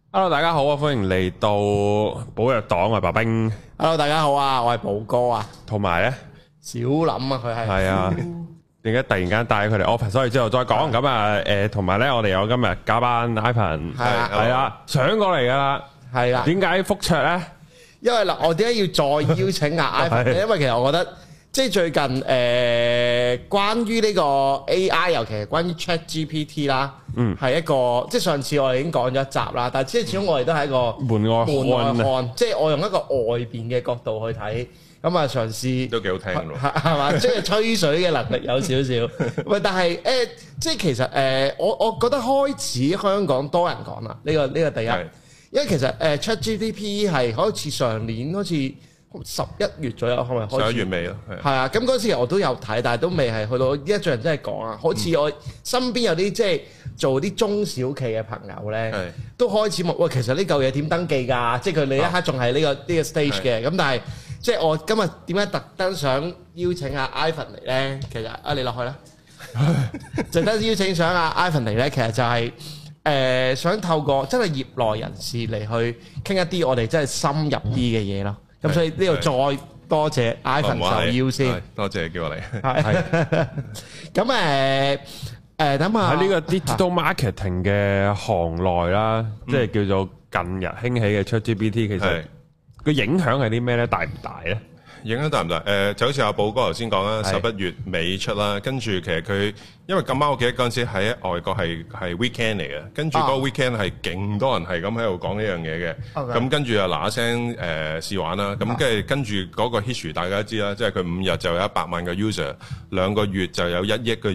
Hello， 大家好啊，歡迎嚟到寶藥黨啊，白兵。 Hello， 大家好啊，我係寶哥啊， 同埋咧小林啊，佢係啊，點解突然間帶佢嚟 office，所以之後再講咁啊？同埋咧，我哋有今日加班 Ivan 係啊，上過嚟噶啦， 係啦。點解覆卓咧？ 因為嗱，我點解要再邀請阿 Ivan 咧？因為其實我覺得即係最近關於呢個 AI， 尤其係關於 ChatGPT 啦，係一個即係上次我哋已經講咗一集啦，但係即係始終我哋都係一個門外漢，即係我用一個外邊嘅角度去睇，咁啊嘗試都幾好聽喎， 係嘛？即係吹水嘅能力有少少，喂，但係即係其實我覺得開始香港多人講啦，呢個第一，因為其實ChatGPT 係好似上年好似11月左右，係咪開始？11月尾咯，係啊。咁嗰時我都有睇，但係都未係去到依家最近真係講啊。好似我身邊有啲即係做啲中小企嘅朋友咧，都開始問喂，其實呢嚿嘢點登記㗎？即係佢哋一刻仲係呢個 stage 嘅。咁但係即係我今日點解特登想邀請阿 Ivan 嚟咧？其實你落去啦，特登邀請上阿 Ivan 嚟咧，其實就係想透過真係業內人士嚟去傾一啲我哋真係深入啲嘅嘢咯。咁所以呢度再多謝 Ivan 受邀先， 多謝叫我嚟。 係咁等下喺呢個 digital marketing 嘅行內啦，即係叫做近日興起嘅 ChatGPT， 其實個影響係啲咩咧？大唔大咧？ 影響大唔大？就好似阿寶哥頭先講啦，11月尾出啦，跟住其實佢因為咁啱我記得嗰陣時喺外國係 weekend 嚟嘅，跟住嗰個 weekend 係勁多人係咁喺度講呢樣嘢嘅，咁跟住又嗱一聲試玩啦，咁跟住嗰個 history 大家都知啦，即係佢5日就有100萬個 user， 2個月就有1億個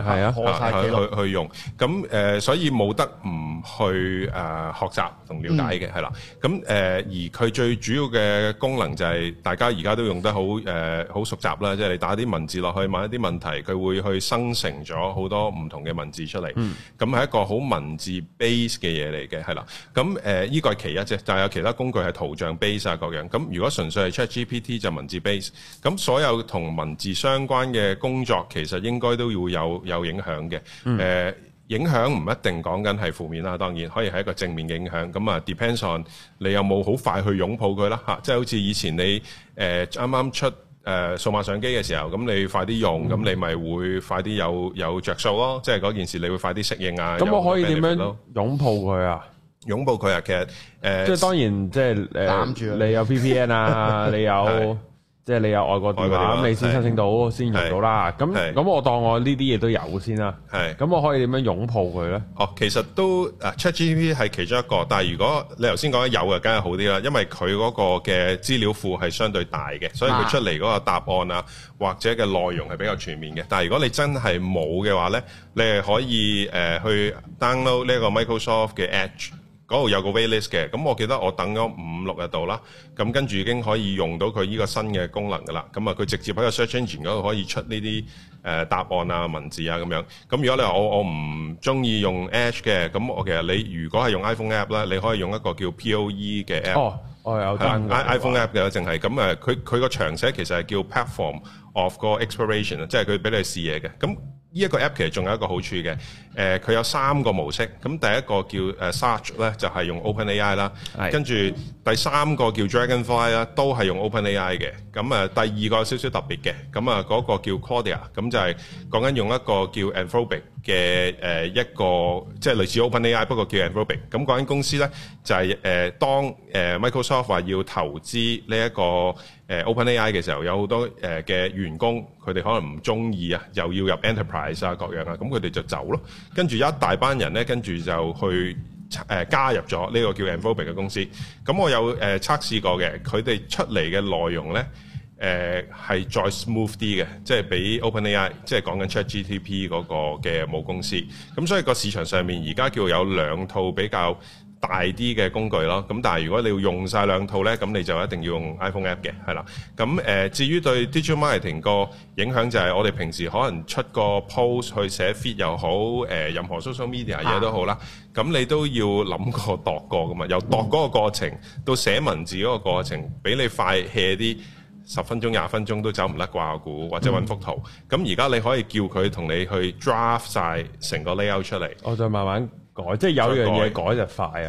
user 去用，咁所以冇得唔去學習同了解嘅係啦，咁而佢最主要嘅功能就係大家而家都用得好熟習啦，即係你打啲文字落去問一啲問題，佢會去生成咗好多唔同嘅文字出嚟，咁係一個好文字 base 嘅嘢嚟嘅，係啦。咁依個係其一啫，但係有其他工具係圖像 base 啊各樣。咁如果純粹係 ChatGPT 就文字 base，咁所有同文字相關嘅工作其實應該都會有影響嘅。影響唔一定講緊係負面啦，當然可以係一個正面嘅影響。咁啊 depends on 你有冇好快去擁抱佢啦嚇，即係好似以前你啱啱出數碼相機嘅時候，咁你快啲用，咁你咪會快啲有着數咯。即係嗰件事你會快啲適應啊。 咁我可以點樣擁抱佢啊？ 擁抱佢啊，其實即係當然即係攬住你有 VPN 啊，你有。即係你有外國電話，咁你先申請到，先用到啦。咁我當我呢啲嘢都有先啦。咁我可以點樣擁抱佢咧？ 其實都ChatGPT 係其中一個，但係如果你頭先講有嘅，梗係好啲啦，因為佢嗰個嘅資料庫係相對大嘅，所以佢出嚟嗰個答案啊，或者嘅內容係比較全面嘅。但係如果你真係冇嘅話咧，你係可以去 download 呢個 Microsoft 嘅 Edge。嗰度有個 waitlist 嘅，咁我記得我等咗5-6日度啦，咁跟住已經可以用到佢呢個新嘅功能噶啦，咁啊佢直接喺個 search engine 嗰度可以出呢啲答案啊文字啊咁樣。咁如果你話我唔中意用 Edge 嘅，咁我其實你如果係用 iPhone app 咧，你可以用一個叫 POE 嘅 app。我有 iPhone app 嘅，淨係咁佢個長寫其實係叫 Platform of 個 Exploration， 即係佢俾你試嘢嘅。咁呢一個 app 其實仲有一個好處嘅，佢有3個模式。咁第一個叫Search 咧，就係用 OpenAI 啦，跟住第3個叫 Dragonfly 啦，都係用 OpenAI 嘅。咁第二個有少少特別嘅，咁嗰個叫 Claude， 咁就係講緊用一個叫 Anthropic 嘅一個即係類似 OpenAI， 不過叫 Anthropic。咁嗰間公司咧就係當Microsoft 話要投資呢一個OpenAI 嘅時候，有好多嘅員工佢哋可能唔中意啊，又要入 Enterprise 啊各樣啊，咁佢哋就走咯。跟住一大班人咧，跟住就去加入咗呢個叫 Anthropic 嘅公司。咁我有測試過嘅，佢哋出嚟嘅內容咧係再 smooth 啲嘅，即係比 OpenAI 即係講緊 ChatGPT 嗰個嘅母公司。咁所以個市場上面而家叫有2套比較大啲嘅工具咯，咁但係如果你要用晒2套咧，咁你就一定要用 iPhone app 嘅，係啦。咁至於對 digital marketing 個影響就係我哋平時可能出個 post 去寫 feed 又好，任何 social media 嘢都好啦，咁你都要諗過度過噶嘛，由度嗰個過程到寫文字嗰個過程，俾你快 hea 啲10分鐘、20分鐘都走唔甩掛估，或者揾幅圖。咁而家你可以叫佢同你去 draft 晒成個 layout 出嚟， 我再慢慢改，即係有樣嘢改就快啊嘛。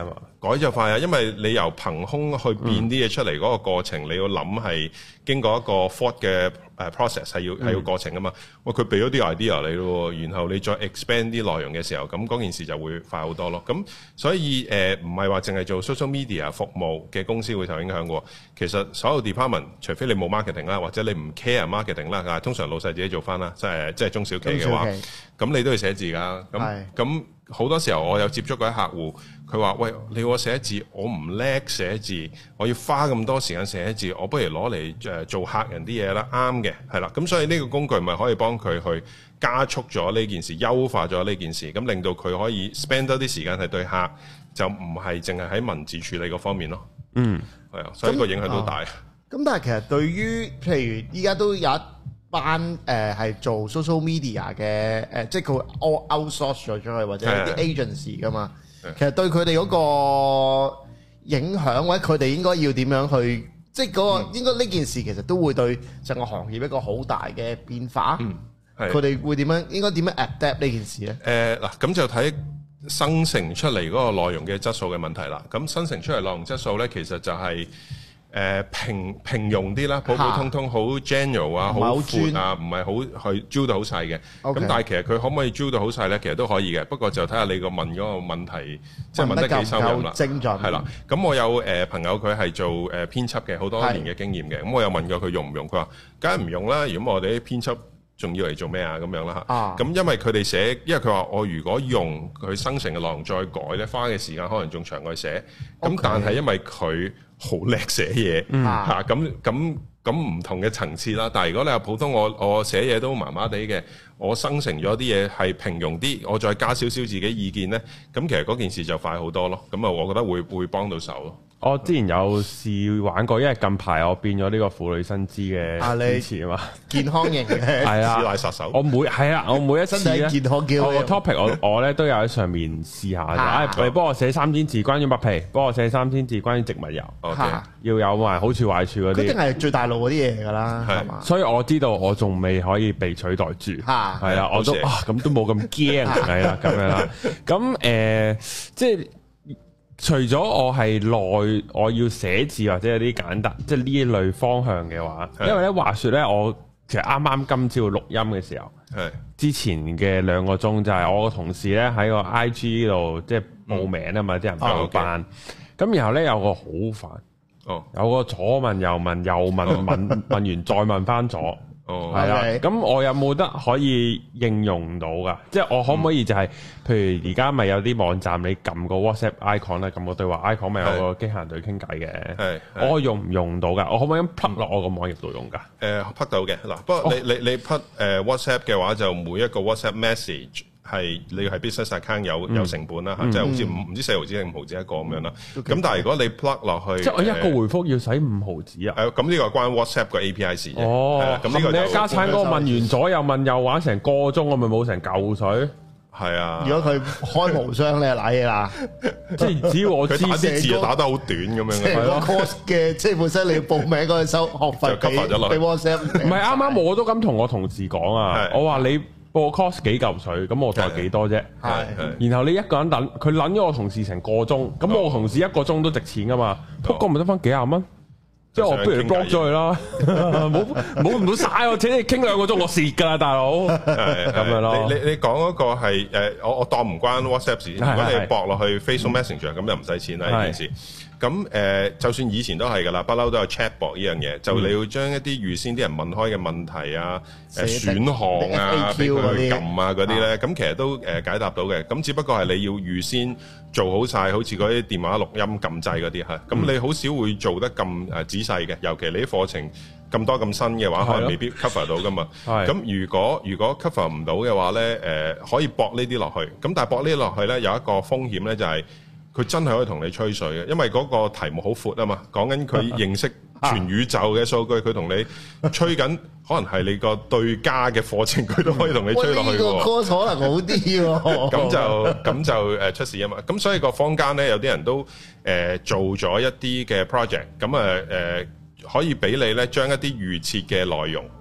改就快啊，因為你由憑空去變啲嘢出嚟嗰個過程，你要諗係經過一個 thought 嘅process 係要過程噶嘛。喂，佢俾咗啲 idea 你咯，然後你再 expand 啲內容嘅時候，咁嗰件事就會快好多咯。咁所以唔係話淨係做 social media 服務嘅公司會受影響嘅。其實所有 department，除非你冇 marketing 啦，或者你唔 care marketing 啦，但係通常老細自己做翻啦，即係中小企嘅話，咁你都要寫字㗎。咁好多時候我有接觸過啲客戶，佢話：喂，你要我寫字，我唔叻寫字，我要花咁多時間寫字，我不如攞嚟做客人啲嘢啦。啱嘅，係啦。咁所以呢個工具咪可以幫佢去加速咗呢件事，優化咗呢件事，咁令到佢可以 spend 多啲時間係對客，就唔係淨係喺文字處理嗰方面咯。係啊，所以個影響都大。 咁但係其實對於譬如依家都有一班係做 social media 嘅即係佢 outsource 咗出去或者啲 agency 噶嘛，其實對佢哋嗰個影響或者佢哋應該要點樣去，即係嗰個應該呢件事其實都會對成個行業一個好大嘅變化。佢哋會點樣應該點樣 adapt 呢件事咧？ 嗱，咁就睇生成出嚟嗰個內容嘅質素嘅問題啦。咁生成出嚟內容質素咧，其實就係平庸啲啦，普普通通，好 general 啊，好闊啊，唔係好去 drill 到好細嘅。咁但係其實佢可唔可以 drill 到好細咧？其實都可以嘅，不過就睇下你個問嗰個問題，即係問得幾深入啦。 精準係啦。咁我有朋友佢係做編輯嘅，好多年嘅經驗嘅。咁我有問過佢用唔用，佢話梗係唔用啦。如果我哋啲編輯仲要嚟做咩啊？咁樣啦嚇。咁因為佢哋寫，因為佢話我如果用佢生成嘅內容再改咧，花嘅時間可能仲長過寫。咁但係因為佢好叻寫嘢嚇，咁唔同嘅層次啦。但係如果你話普通，我寫嘢都麻麻地嘅，我生成咗啲嘢係平庸啲，我再加少少自己意見咧，咁其實嗰件事就快好多咯。咁啊，我覺得會幫到手咯。 我之前有試玩過，因為近排我變咗呢個婦女新知嘅主持啊嘛， 健康型嘅係啊， 師奶殺手。 我每一次咧， 健康叫我個 topic 我咧都有喺上面試下就，你幫我寫3000字關於麥皮，幫我寫3000字關於植物油，要有埋好處壞處嗰啲。一定係最大路嗰啲嘢㗎啦，係嘛？ 所以我知道我仲未可以被取代住，係啦，我都咁都冇咁驚，係啦咁樣啦。咁即係。除咗我係我要寫字或者有啲簡單，即係呢一類方向嘅話，因為咧話說咧，我其實啱啱今朝錄音嘅時候，之前嘅2個鐘就係我個同事咧喺個 IG 度即係報名啊嘛，啲人報班，咁然後咧有個好煩，有個左問右問，右問完再問翻左。係啦，咁我有冇得可以應用到噶？即係我可唔可以就係，譬如而家咪有啲網站，你撳個 WhatsApp icon 咧，撳個對話 icon 咪有個機械人對傾偈嘅。我用唔用到噶？我可唔可以咁 plug 落我個網頁度用噶 ？plug 到嘅嗱，不過你 plug WhatsApp 嘅話，就每一個 WhatsApp message。係你要係 business account 有成本啦嚇，即係好似唔知4毫子定5毫子一個咁樣啦。咁但係如果你 plug 落去， 即係我一個回覆要使5毫子啊？ 咁呢個關 WhatsApp 個 API 事啫。 咁呢個你家產嗰個問完左右問右玩成個鐘，我咪冇成嚿水。 係啊， 如果佢開無雙咧，瀨嘢啦。 即係只要我知佢打啲字打得好短咁樣。 成個 course 嘅，即係本身你要報名嗰陣收學費俾 WhatsApp。唔係啱啱我都咁同我同事講啊，我話你報 course 幾嚿水，咁我就係幾多啫。然後你一個人等，佢撚咗我同事成個鐘，咁我同事一個鐘都值錢噶嘛，不過咪得翻幾廿蚊。即係我不如 block 咗佢啦，冇唔好嘥我，請你傾2個鐘，我蝕㗎啦，大佬。咁樣咯。 你講嗰個係我當唔關 WhatsApp 事。如果你駁落去 Facebook Messenger 咁就唔使錢啦呢件事。咁就算以前都係㗎啦，不嬲都有 chatbot 呢樣嘢，就你要將一啲預先啲人問開嘅問題啊、選項啊、俾佢撳啊嗰啲咧，咁其實都解答到嘅。咁只不過係你要預先做好晒，好似嗰啲電話錄音撳掣嗰啲嚇。咁你好少會做得咁仔細嘅，尤其你啲課程咁多咁新嘅話，可能未必 cover 到㗎嘛。咁如果 cover 唔到嘅話咧，可以駁呢啲落去。咁但係駁呢啲落去咧，有一個風險咧，就係佢真係可以同你吹水嘅，因為嗰個題目好闊啊嘛，講緊佢認識全宇宙嘅數據，佢同你吹緊，可能係你個對家嘅課程，佢都可以同你吹落去嘅。呢個 course 可能好啲喎。 咁就出事啊嘛。咁所以個坊間咧，有啲人都做咗一啲嘅 project，咁可以俾你咧將一啲預設嘅內容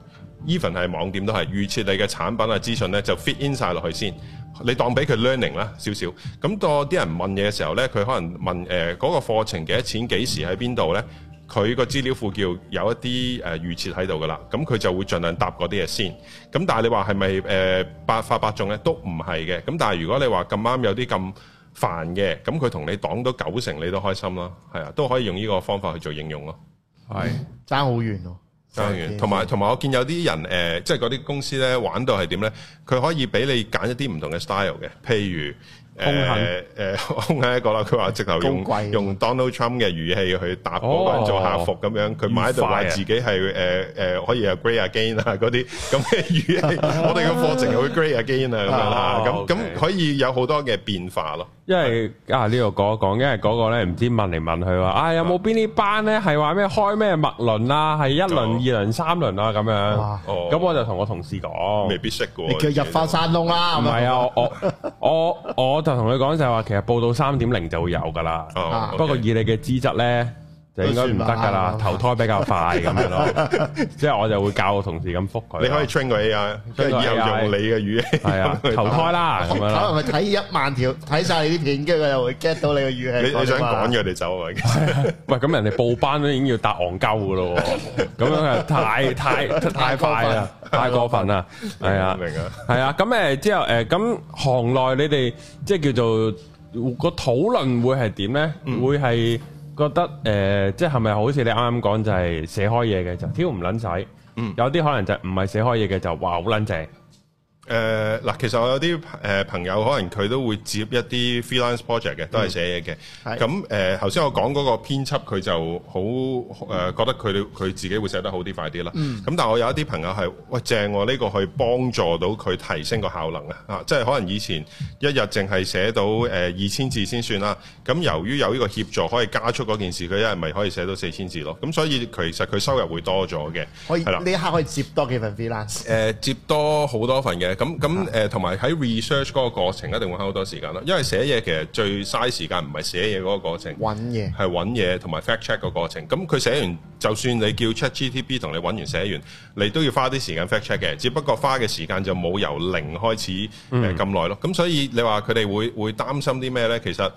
even 係網店都係預設你嘅產品啊資訊咧就 fit in 晒落去先，你當俾佢 learning 啦少少。咁當啲人問嘢嘅時候咧，佢可能問嗰個課程幾多錢、幾時喺邊度咧？佢個資料庫叫有一啲預設喺度噶啦，咁佢就會盡量答嗰啲嘢先。咁但係你話係咪百發百中咧？都唔係嘅。咁但係如果你話咁啱有啲咁煩嘅，咁佢同你擋到90%，你都開心啦。係啊，都可以用呢個方法去做應用咯。係爭好遠咯， 爭遠。同埋我見有啲人即係嗰啲公司咧玩到係點咧？佢可以俾你揀一啲唔同嘅 style 嘅，譬如。空係一個啦，佢話直頭用 Donald Trump 嘅語氣去答嗰個人做客服咁樣，佢買喺度話自己係可以係 Great Again 啊嗰啲咁嘅語氣，我哋嘅課程又會 Great Again 啊咁樣啦，咁可以有好多嘅變化咯。 因為呢度講一講，因為嗰個咧唔知問嚟問去話，有冇邊啲班咧係話咩開咩脈輪啊，係1輪、2輪、3輪啊咁樣。咁我就同我同事講， 未必識嘅。 你叫入花山窿啦。 唔係啊，我就同佢講就係話，其實報到3.0就會有噶啦。不過以你嘅資質咧，就應該唔得噶啦，投胎比較快咁樣咯。即係我就會教我同事咁覆佢。 你可以 train 個 AI，跟住以後用你嘅語氣。 係啊，投胎啦咁樣啦。 可能佢睇1萬條，睇晒你啲片，跟住佢就會 get 到你嘅語氣。 你想趕佢哋走啊？ 喂，咁人哋報班都已經要答戇鳩噶咯，咁樣係太快啦，太過分啦。係啊， 明啊。 係啊，咁之後咁行內你哋即係叫做個討論會係點咧？會係。覺得即係咪好似你啱啱講就係寫開嘢嘅就挑唔撚使，有啲可能就唔係寫開嘢嘅就話好撚正。 嗱，其實我有啲朋友可能佢都會接一啲 freelance project 嘅，都係寫嘢嘅。咁頭先我講嗰個編輯佢就好覺得佢自己會寫得好啲快啲啦。咁但係我有一啲朋友係喂正喎，呢個可以幫助到佢提升個效能啊！即係可能以前一日淨係寫到2000字先算啦。咁由於有呢個協助可以加速嗰件事，佢一日咪可以寫到4000字咯。咁所以其實佢收入會多咗嘅。 可以呢一刻可以接多幾份 freelance。 接多好多份嘅。咁同埋喺 research 嗰個過程一定會花好多時間咯，因為寫嘢其實最嘥時間唔係寫嘢嗰個過程， 揾嘢係揾嘢同埋 fact check 個過程。咁佢寫完，就算你叫 ChatGPT 同你揾完寫完，你都要花啲時間 fact check 嘅，只不過花嘅時間就冇由零開始咁耐咯。咁所以你話佢哋會擔心啲咩呢？其實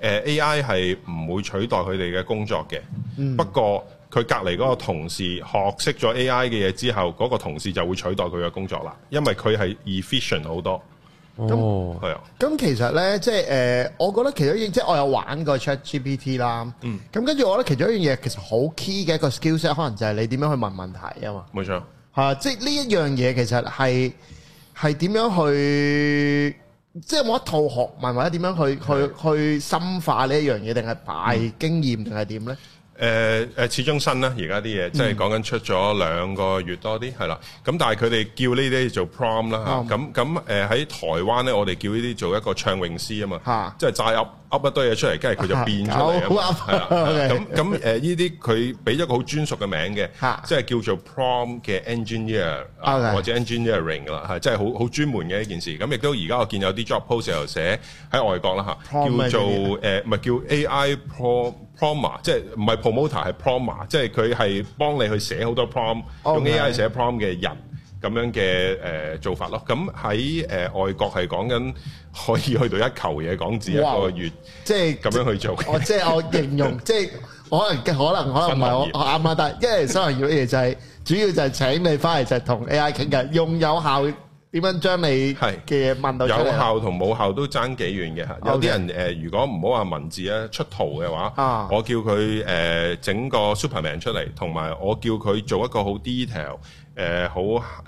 AI 係唔會取代佢哋嘅工作嘅，不過佢隔離嗰個同事學識咗 AI 嘅嘢之後，嗰個同事就會取代佢嘅工作啦，因為佢係 efficient 好多。係啊。咁其實咧，即係我覺得其中一樣，即係我有玩過 ChatGPT 啦。咁跟住我覺得其中一樣嘢其實好 key 嘅一個 skillset，可能就係你點樣去問問題啊嘛。 冇錯。 即係呢一樣嘢其實係點樣去，即係冇一套學問或者點樣去深化呢一樣嘢，定係擺經驗定係點咧？ 始終新啦，而家啲嘢即係講緊出咗2個月多啲，係啦。咁但係佢哋叫呢啲做 prompt 啦嚇。咁喺台灣咧，我哋叫呢啲做一個唱詠詩啊嘛，即係齋噏一堆嘢出嚟，跟住佢就變出嚟啊嘛。係啦。咁呢啲佢俾咗個好專屬嘅名嘅，即係叫做 prompt 嘅 engineer 或者 engineering 啦，係即係好專門嘅一件事。咁亦都而家我見有啲 job post 又寫喺外國啦嚇，叫做唔係叫 AI prompt，即係唔係 promoter 係 prompt，即係佢係幫你去寫好多 prompt，用 AI 寫 prompt 嘅人咁樣嘅做法咯。咁喺外國係講緊可以去到1球嘢港紙1個月，即係咁樣去做。 即係我形容，即係可能唔係我啱啱，但係因為新行業嘅嘢就係主要就係請你翻嚟就係同 AI 傾偈，用有效。點樣將你嘅嘢問到出嚟？ 有效同冇效都爭幾遠嘅嚇。有啲人如果唔好話文字啊出圖嘅話，我叫佢整個 Superman 出嚟，同埋我叫佢做一個好 detail 好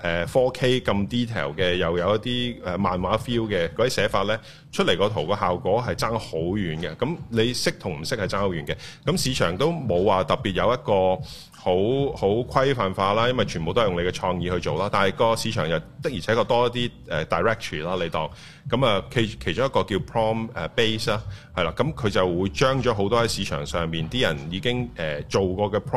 4K 咁 detail 嘅，又有一啲漫畫 feel 嘅嗰啲寫法咧，出嚟個圖個效果係爭好遠嘅。咁你識同唔識係爭好遠嘅。咁市場都冇話特別有一個好規範化啦，因為全部都係用你嘅創意去做啦。但係個市場又的而且確多一啲directory 啦，你當咁啊，其中一個叫 prompt base 啦，係啦，咁佢就會將咗好多喺市場上面啲人已經做過嘅 prompt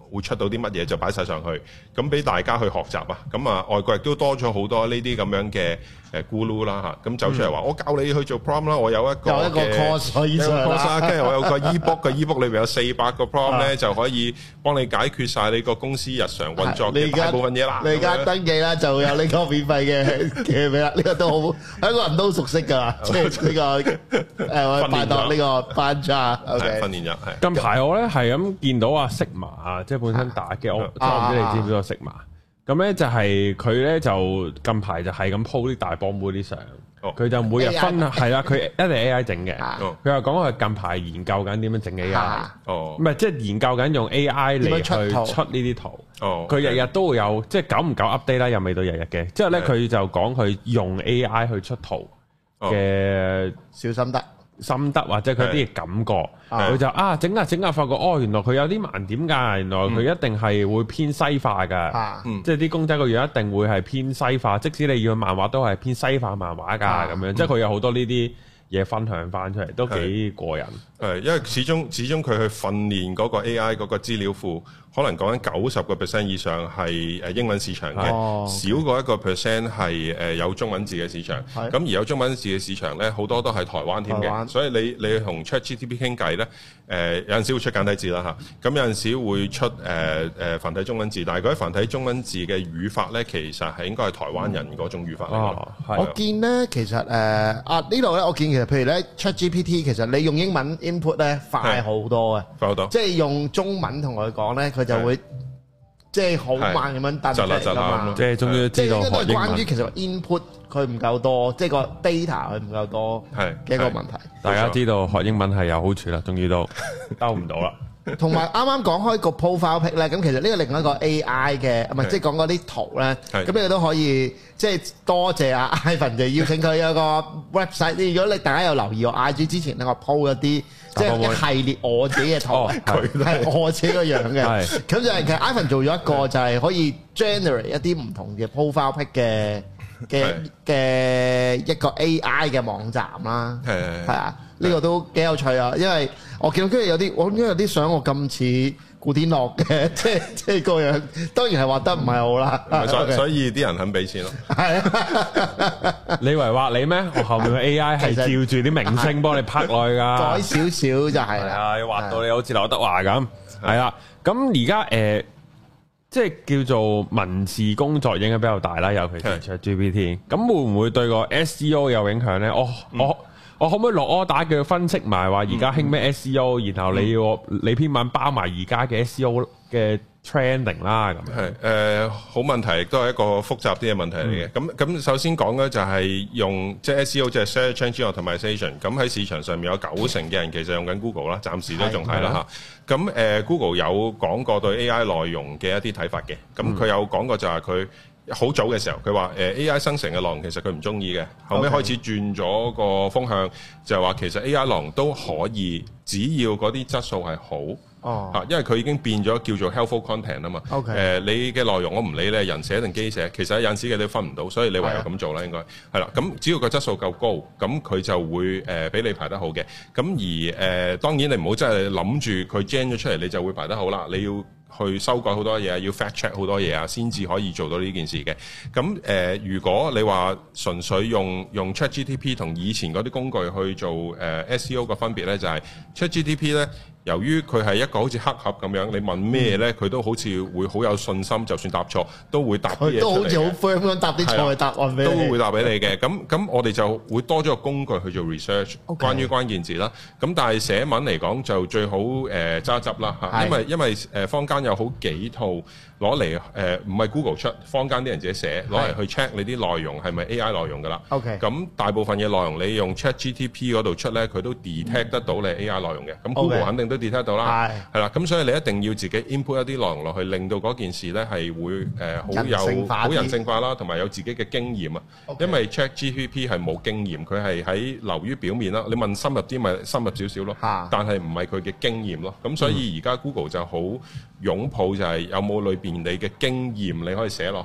會出到啲乜嘢就擺晒上去，咁俾大家去學習啊。咁啊，外國亦都多咗好多呢啲咁樣嘅咕嚕啦嚇，咁走出嚟話我教你去做 prompt 啦，我有一個 course 可以上啦， 跟住我有個 ebook 嘅 ebook 裏邊有400個 prompt 咧，就可以幫你解決晒你個公司日常運作嘅大部分嘢啦。 你而家登記啦，就有呢個免費嘅俾啦，呢個都好香港人都熟悉㗎啦，即係呢個我拜託呢個班長。 訓練日係。 近排我咧係咁見到阿 Sigma 啊，即係本身打嘅，我唔知你知唔知個 Sigma？咁咧就係佢咧就近排就係咁 po 啲大波妹啲相，佢就每日分係啦，佢一定 AI 整嘅。佢又講佢近排研究緊點樣整 AI，唔係即係研究緊用 AI 嚟去出呢啲圖。佢日日都會有，即係久唔久 update 啦，又未到日日嘅。之後咧佢就講佢用 AI 去出圖嘅小心得或者佢啲感覺，佢就整下發覺原來佢有啲盲點㗎，原來佢一定係會偏西化㗎，即係啲公仔個樣一定會係偏西化，即使你要漫畫都係偏西化漫畫㗎咁樣，即係佢有好多呢啲嘢分享翻出嚟，都幾過癮。 因為始終佢去訓練嗰個 AI 嗰個資料庫，可能講緊90% 以上係英文市場嘅，少過1% 係有中文字嘅市場。咁而有中文字嘅市場咧，好多都係台灣添嘅。所以你同 ChatGPT 傾偈咧，有陣時會出簡體字啦嚇，咁有陣時會出繁體中文字，但係嗰啲繁體中文字嘅語法咧，其實係應該係台灣人嗰種語法嚟。 我見咧，其實呢度咧，我見其實譬如咧 ChatGPT， 其實你用英文 input 咧快好多嘅， 快好多。即係用中文同佢講咧，佢就會即係好慢咁樣彈出嚟㗎嘛。 即係終於知道學英文。 關於其實 input 佢唔夠多，即係個 data 佢唔夠多嘅一個問題。 大家知道學英文係有好處啦，終於都兜唔到啦。 同埋啱啱講開個 profile pic 咧，咁其實呢個另外一個 AI 嘅，唔係即係講嗰啲圖咧，咁你都可以即係多謝阿 Ivan 就邀請佢有個 website。如果你大家有留意我 IG 之前咧，我 po 一啲即係一系列我自己嘅圖，係我自己個樣嘅。咁就係其實 Ivan 做咗一個就係可以 generate 一啲唔同嘅 profile pic 嘅一個 AI 嘅網站啦。係啊。呢個都幾有趣啊，因為我見到跟住有啲相我咁似古天樂嘅，即係個樣，當然係畫得唔係好啦。 所以啲人肯俾錢咯。 係啊， 你以為畫你咩？我後面嘅 AI 係照住啲明星幫你拍落去㗎， 改少少就係啦。畫到你好似劉德華咁，係啦。咁而家即係叫做文字工作影響比較大啦，尤其是 ChatGPT。咁會唔會對個 SEO 有影響咧？我可唔可以落 order 叫佢分析埋話而家興咩 SEO，然後你篇文包埋而家嘅 SEO 嘅 trending 啦咁樣？ 係好問題，亦都係一個複雜啲嘅問題嚟嘅。咁首先講咧就係用即係 SEO 即係 search engine optimization。咁喺市場上面有90%嘅人其實用緊 Google 啦，暫時都仲係啦嚇。咁Google 有講過對 AI 內容嘅一啲睇法嘅。咁佢有講過就係佢好早嘅時候，佢話AI 生成嘅內容其實佢唔中意嘅，後尾開始轉咗個風向，就係話其實 AI 內容都可以，只要嗰啲質素係好，因為佢已經變咗叫做 helpful content 啊嘛。你嘅內容我唔理你係人寫定機寫，其實有陣時嘅都分唔到，所以你唯有咁做啦，應該係啦。咁只要個質素夠高，咁佢就會俾你排得好嘅。咁而當然你唔好真係諗住佢 gen 咗出嚟，你就會排得好啦。你要去修改好多嘢，要 fact check 好多嘢啊，先至可以做到呢件事嘅。咁如果你話純粹用 ChatGPT 同以前嗰啲工具去做SEO 嘅分別咧，就係 ChatGPT 咧，由於佢係一個好似黑盒咁樣，你問咩咧，佢都好似會好有信心，就算答錯都會答啲嘢出嚟嘅。都好似好 firm 咁答啲錯嘅答案俾你。都會答俾你嘅。咁我哋就會多咗個工具去做 research，關於關鍵字啦。咁但係寫文嚟講就最好揸汁啦嚇，因為坊間有好幾套攞嚟唔係 Google 出，坊間啲人自己寫攞嚟去 check 你啲內容係咪 AI 內容㗎啦。咁大部分嘅內容你用 ChatGPT 嗰度出咧，佢都 detect 得到你 AI 內容嘅。咁 Google 肯定都 detect 到啦，係啦。咁所以你一定要自己 input 一啲內容落去，令到嗰件事咧係會好人性化啦，同埋有自己嘅經驗啊。因為 ChatGPT 係冇經驗，佢係喺流於表面啦。你問深入啲咪深入少少咯，但係唔係佢嘅經驗咯。咁所以而家 Google 就好擁抱就係有冇裏邊你嘅經驗你可以寫落去，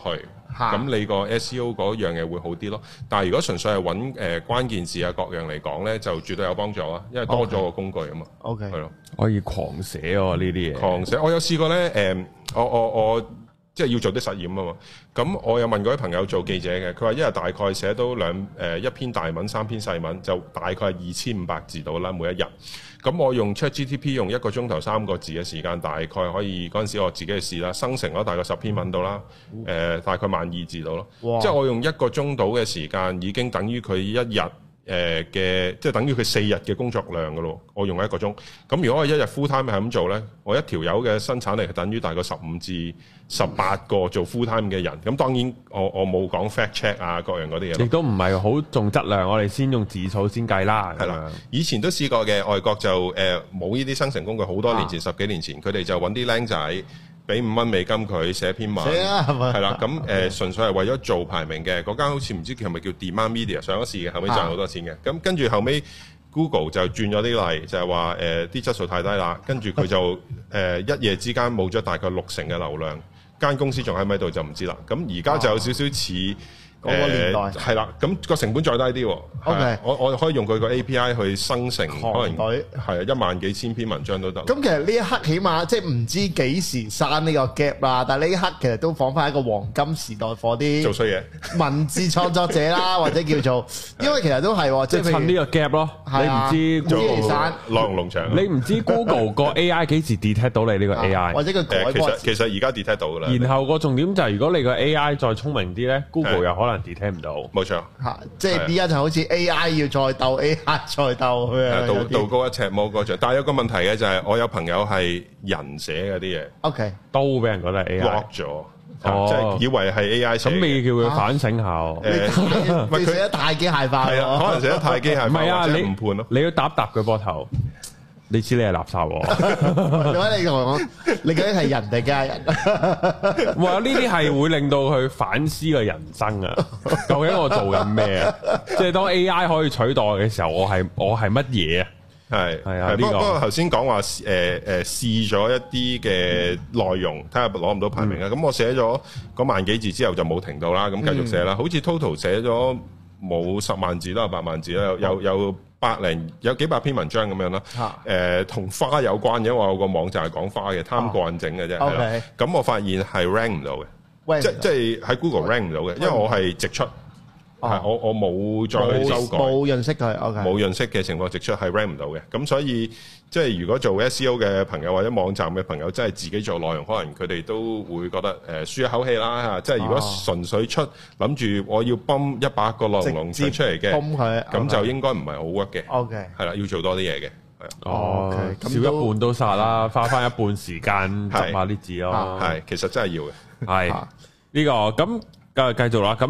咁你個 SEO 嗰樣嘢會好啲咯。但係如果純粹係揾關鍵字啊各樣嚟講咧，就絕對有幫助啊，因為多咗個工具啊嘛。 OK， 係咯， 可以狂寫喎呢啲嘢。 狂寫，我有試過咧，我即係要做啲實驗啊嘛。咁我有問過啲朋友做記者嘅，佢話一日大概寫到一篇大文、3篇細文，就大概係2500字到啦，每一日。咁我用 ChatGPT 用1個鐘頭3個字嘅時間，大概可以嗰陣時我自己去試啦，生成咗大概10篇文到啦，大概12000字到咯。即係我用1個鐘到嘅時間，已經等於佢一日嘅，即係等於佢4日嘅工作量噶咯。我用1個鐘，咁如果我一日 full time 係咁做呢，我一條友嘅生產力係等於大概15至18個做 full time 嘅人。咁當然我冇講 fact check 啊各樣嗰啲嘢， 亦都唔係好重質量，我哋先用字數先計啦。 係啦，以前都試過嘅，外國就冇呢啲生成工具，好多年前10幾年前，佢哋就揾啲僆仔。俾$5美金佢寫篇文，係啦，咁純粹係為咗做排名嘅。嗰間好似唔知係咪叫 Demand Media 上咗市嘅，後尾賺好多錢嘅。咁跟住後尾 Google 就轉咗啲例，就係話啲質素太低啦，跟住佢就一夜之間冇咗大概60%嘅流量，間公司仲喺咪度就唔知啦。咁而家就有少少似。 嗰個年代係啦，咁個成本再低啲喎。 OK， 我可以用佢個 API 去生成，可能係1萬幾千篇文章都得。 咁其實呢一刻起碼即係唔知幾時刪呢個 gap 啦，但係呢一刻其實都仿翻一個黃金時代，for 啲做衰嘢文字創作者啦，或者叫做，因為其實都係即係趁呢個 gap 咯。你唔知做內容農場， 你唔知 Google 個 AI 幾時 detect 到你呢個 AI， 或者佢改過。 其實而家 detect 到㗎啦。 然後個重點就係如果你個 AI 再聰明啲咧，Google 又可能 detect 唔到。 冇錯， 即係而家就好似 AI 要再鬥 AI 再鬥咁樣， 道高一尺魔高一丈。但係有個問題嘅就係，我有朋友係人寫嗰啲嘢 ，OK 都俾人覺得係 AI block 咗，即係以為係 AI 寫。 咁你叫佢反省下。 佢寫得太機械化， 係啊，可能寫得太機械化， 唔係啊， 你誤判咯。 你要搭佢膊頭。你知你係垃圾喎！ 點解你同我講？你究竟係人定家人？ 哇！呢啲係會令到佢反思個人生啊！究竟我做緊咩啊？即係當 AI 可以取代嘅時候，我係乜嘢啊？係啊！ 不過頭先講話試咗一啲嘅內容，睇下攞唔到排名啊！咁我寫咗嗰萬幾字之後就冇停到啦，咁繼續寫啦。好似 total 寫咗冇10萬字啦，8萬字啦，有幾百篇文章咁樣啦。同花有關嘅，因為我有個網站係講花嘅，貪過癮整嘅啫。咁我發現係 rank 唔到嘅，即係喺 Google rank 唔到嘅，因為我係直出，我冇再去修改， 冇潤色佢， 冇潤色嘅情況直出係 rank 唔到嘅。咁所以即係如果做 SEO 嘅朋友或者網站嘅朋友，真係自己做內容，可能佢哋都會覺得舒一口氣啦。即係如果純粹出諗住我要泵100個內容出嚟嘅，咁就應該唔係好 work 嘅。 OK， 係啦，要做多啲嘢嘅。 哦，少一半都殺啦，花翻一半時間執下啲字咯。 係，其實真係要嘅。 係呢個咁。繼續啦，咁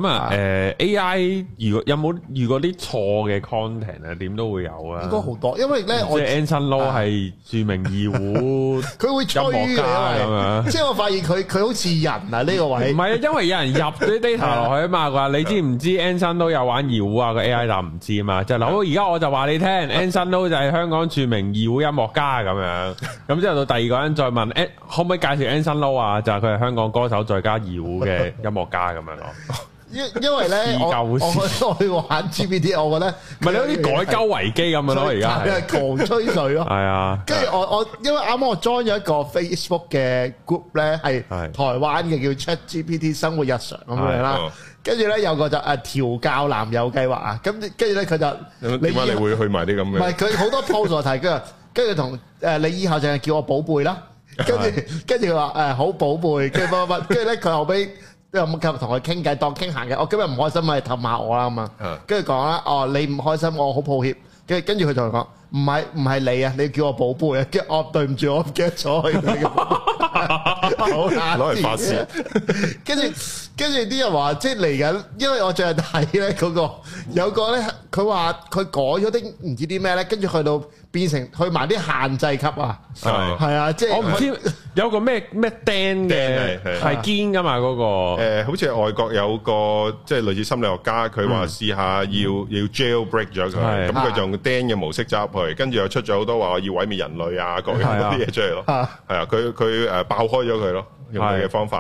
AI 如果有冇遇過啲錯嘅 content 啊？點都會有啊， 應該好多，因為咧我即係 Anson Lo 係著名二胡， 佢會吹嘅，咁樣。即係我發現佢好似人啊呢個位。 唔係啊，因為有人入啲 data 落去啊嘛，話你知唔知 Anson Lo 有玩二胡啊？個 AI 就唔知啊嘛，就嗱，而家我就話你聽，Anson Lo 就係香港著名二胡音樂家咁樣。咁之後到第二個人再問，可唔可以介紹 Anson Lo 啊？就係佢係香港歌手再加二胡嘅音樂家咁樣。 因為咧，我去玩 GPT， 我覺得唔係你好似改鳩維基咁樣咯，而家係狂吹水咯。 係啊， 跟住我因為啱啱我 join 咗一個 Facebook 嘅 group 咧，係台灣嘅叫 ChatGPT 生活日常咁樣啦。跟住咧有個就調教男友計劃啊，跟住咧佢就點解你會去埋啲咁嘅？ 唔係佢好多 post 我睇，跟住同你以後淨係叫我寶貝啦。跟住佢話好寶貝，跟住乜，跟住咧佢後尾。有冇同佢傾偈當傾閒嘅？我今日唔開心咪氹下我啦咁啊！跟住講啦，你唔開心，我好抱歉。跟住佢同佢講，唔係你啊，你叫我寶貝啊！跟住對唔住，我唔記得咗佢。好難攞嚟發泄。跟住啲人話即係嚟緊，因為我最近睇咧嗰個有個咧，佢話佢改咗啲唔知啲咩咧，跟住去到變成去埋啲限制級啊！係啊，即係我唔知有個咩釘嘅係堅噶嘛嗰個。 好似外國有個即係類似心理學家，佢話試下要 jailbreak 咗佢，咁佢就用釘嘅模式走入去，跟住又出咗好多話要毀滅人類啊各樣嗰啲嘢出嚟咯。係啊，佢爆開咗佢咯，用佢嘅方法。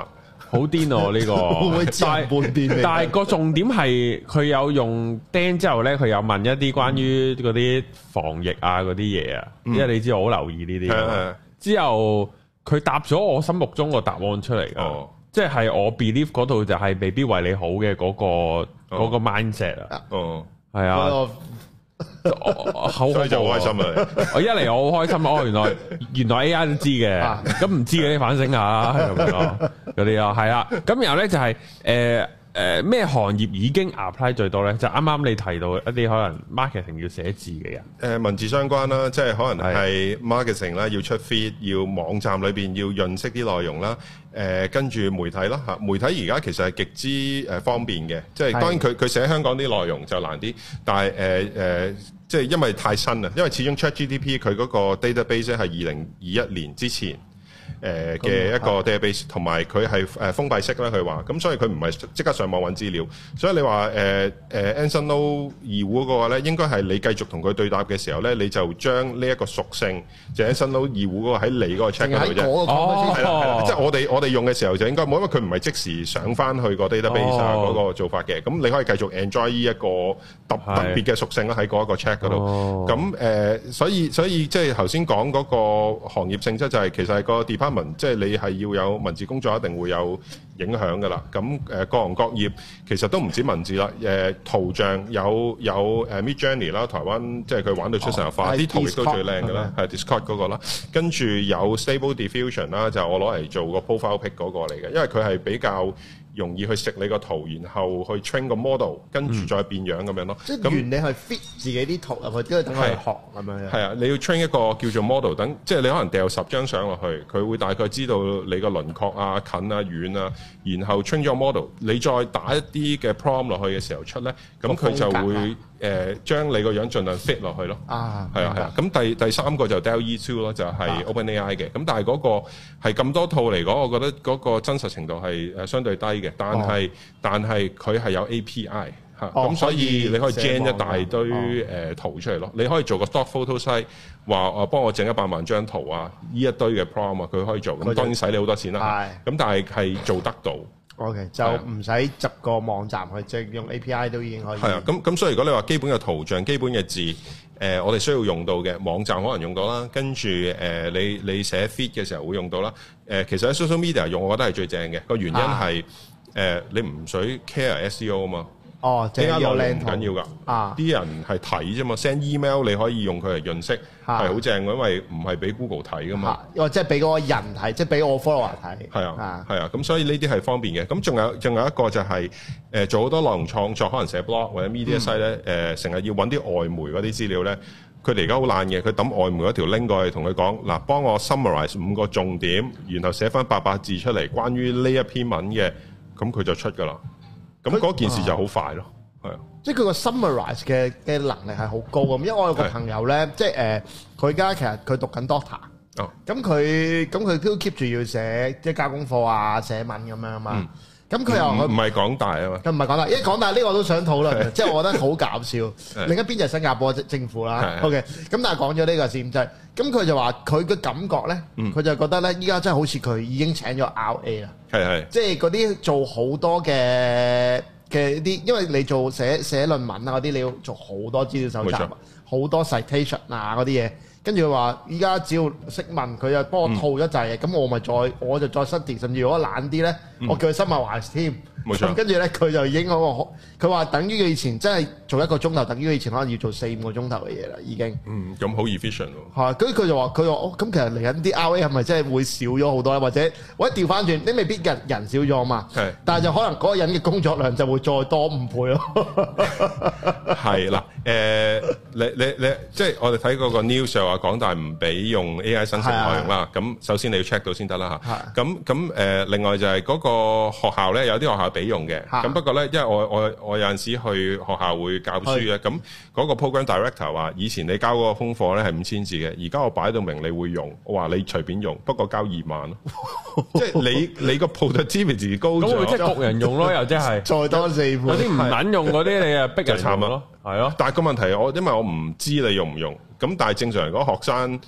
好癲喎呢個，但係個重點係佢有用釘之後咧，佢有問一啲關於嗰啲防疫啊嗰啲嘢啊，因為你知我好留意呢啲。之後佢答咗我心目中個答案出嚟㗎，即係我 believe 嗰度就係未必為你好嘅嗰個 mindset 啊。係啊。所以就好開心啊！我一嚟我好開心，原來 AI 都知嘅，咁唔知嘅你反省下咁樣咯，嗰啲啊係啦。咁然後咧就係咩行業已經 apply 最多咧？就啱啱你提到一啲可能 marketing 要寫字嘅人， 文字相關啦，即係可能係 marketing 啦，要出 feed， 要網站裏邊要潤色啲內容啦。跟住媒體啦嚇，媒體而家其實係極之方便嘅，即係當然佢寫香港啲內容就難啲，但係即係因為太新啦，因為始終 ChatGPT 佢嗰個 database 係2021年之前嘅一個 database， 同埋佢係封閉式啦，佢話，咁所以佢唔係即刻上網揾資料，所以你話Anson Lo 二胡嗰個咧，應該係你繼續同佢對答嘅時候咧，你就將呢一個屬性，就 Anson Lo 二胡嗰個喺你嗰個 check 嗰度啫，即係我哋用嘅時候就應該冇，因為佢唔係即時上翻去個 database 嗰個做法嘅，咁你可以繼續 enjoy 呢一個特別嘅屬性啦喺嗰一個 check 嗰度，咁所以即係頭先講嗰個行業性質就係其實係個 department。即係你係要有文字工作，一定會有影響㗎啦。咁各行各業其實都唔止文字啦。圖像有Midjourney 啦，台灣即係佢玩到出神入化，啲圖亦都最靚㗎啦，係 Discord 嗰個啦。跟住有 Stable Diffusion 啦，就我攞嚟做個 profile pic 嗰個嚟嘅，因為佢係比較容易去食你個圖，然後去 train 個 model， 跟住再變樣咁樣咯。 即係原理係 fit 自己啲圖入去，跟住等佢學咁樣。係啊，你要 train 一個叫做 model， 等即係你可能掉10張相落去，佢會大概知道你個輪廓啊、近啊、遠啊，然後 train 咗個 model， 你再打一啲嘅 prompt 落去嘅時候出咧，咁佢就會將你個樣盡量 fit 落去咯。係啊。咁第三個就 DALL-E 2咯，就係 OpenAI 嘅。咁但係嗰個係咁多套嚟講，我覺得嗰個真實程度係相對低嘅。但係佢係有 API 嚇，咁所以你可以 gen 一大堆圖出嚟咯。你可以做個 stock photo site， 話幫我整100萬張圖啊，呢一堆嘅 prompt 啊，佢可以做。咁當然使你好多錢啦。咁但係做得到。 OK， 就唔使執個網站去，即係用 API 都已經可以。係啊，咁所以如果你話基本嘅圖像、基本嘅字，我哋需要用到嘅網站可能用到啦。跟住你寫 feed 嘅時候會用到啦。其實喺 social media 用，我覺得係最正嘅。個原因係你唔使 care SEO 啊嘛。 即係有靚圖唔緊要㗎。啲人係睇啫嘛 ，send email 你可以用佢嚟潤色，係好正嘅，因為唔係俾 Google 睇㗎嘛。 即係俾嗰個人睇，即係俾我 follower 睇。係啊，咁所以呢啲係方便嘅。咁仲有一個就係做好多內容創作，可能寫 blog 或者 media site 咧，成日要揾啲外媒嗰啲資料咧。佢哋而家好懶嘅，佢抌外媒嗰條 link 過去同佢講，嗱，幫我 summarize 5個重點，然後寫翻800字出嚟，關於呢一篇文嘅，咁佢就出㗎啦。咁嗰件事就好快咯，係啊！ 即係佢個 summarize 嘅能力係好高咁，因為我有個朋友咧，即係佢而家其實佢讀緊 doctor，咁佢都 keep 住要寫即係交功課啊、寫文咁樣啊嘛。咁佢又唔係港大啊嘛， 佢唔係港大，因為港大呢個我都想討論，即係我覺得好搞笑。另一邊就係新加坡政府啦。OK，咁但係講咗呢個先，就係咁佢就話佢嘅感覺咧，佢就覺得咧，依家真係好似佢已經請咗 RA 啦。係，即係嗰啲做好多嘅啲，因為你做寫論文啊嗰啲，你要做好多資料搜集，好多 citation 啊嗰啲嘢。跟住佢話：依家只要識問，佢就幫我套一陣嘅，咁我就再 study，甚至如果懶啲咧，我叫佢 summarize 添。冇錯。跟住咧，佢就已經佢話等於佢以前真係做1個鐘頭，等於佢以前可能要做4-5個鐘頭嘅嘢啦，已經。 咁好 efficient 喎。係， 跟住佢就話：咁其實嚟緊啲 RA 係咪真係會少咗好多咧？或者調翻轉，你未必人少咗嘛。係。但係就可能嗰個人嘅工作量就會再多5倍咯。係啦， 你即係我哋睇嗰個 news 就話港大唔俾用 AI 生成內容啦。咁首先你要 check 到先得啦嚇。咁另外就係嗰個學校咧，有啲學校俾用嘅。咁不過咧，因為我有陣時去學校會教書嘅，咁嗰個 program director 話：以前你交嗰個功課咧係5000字嘅，而家我擺到明你會用，我話你隨便用，不過交2萬咯。即係你個 productivity 高咗，咁會即係焗人用咯，又即係再多4倍。有啲唔撚用嗰啲，你啊逼人慘咯，係咯。但係個問題因為我唔知你用唔用，咁但係正常嚟講學生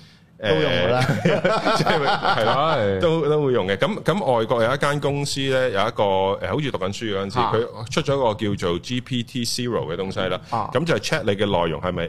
都用㗎啦， 即係係啦，都會用嘅。咁外國有一間公司咧，有一個好似讀緊書嗰陣時，佢出咗一個叫做 GPT Zero 嘅東西啦。咁就係 check 你嘅內容係咪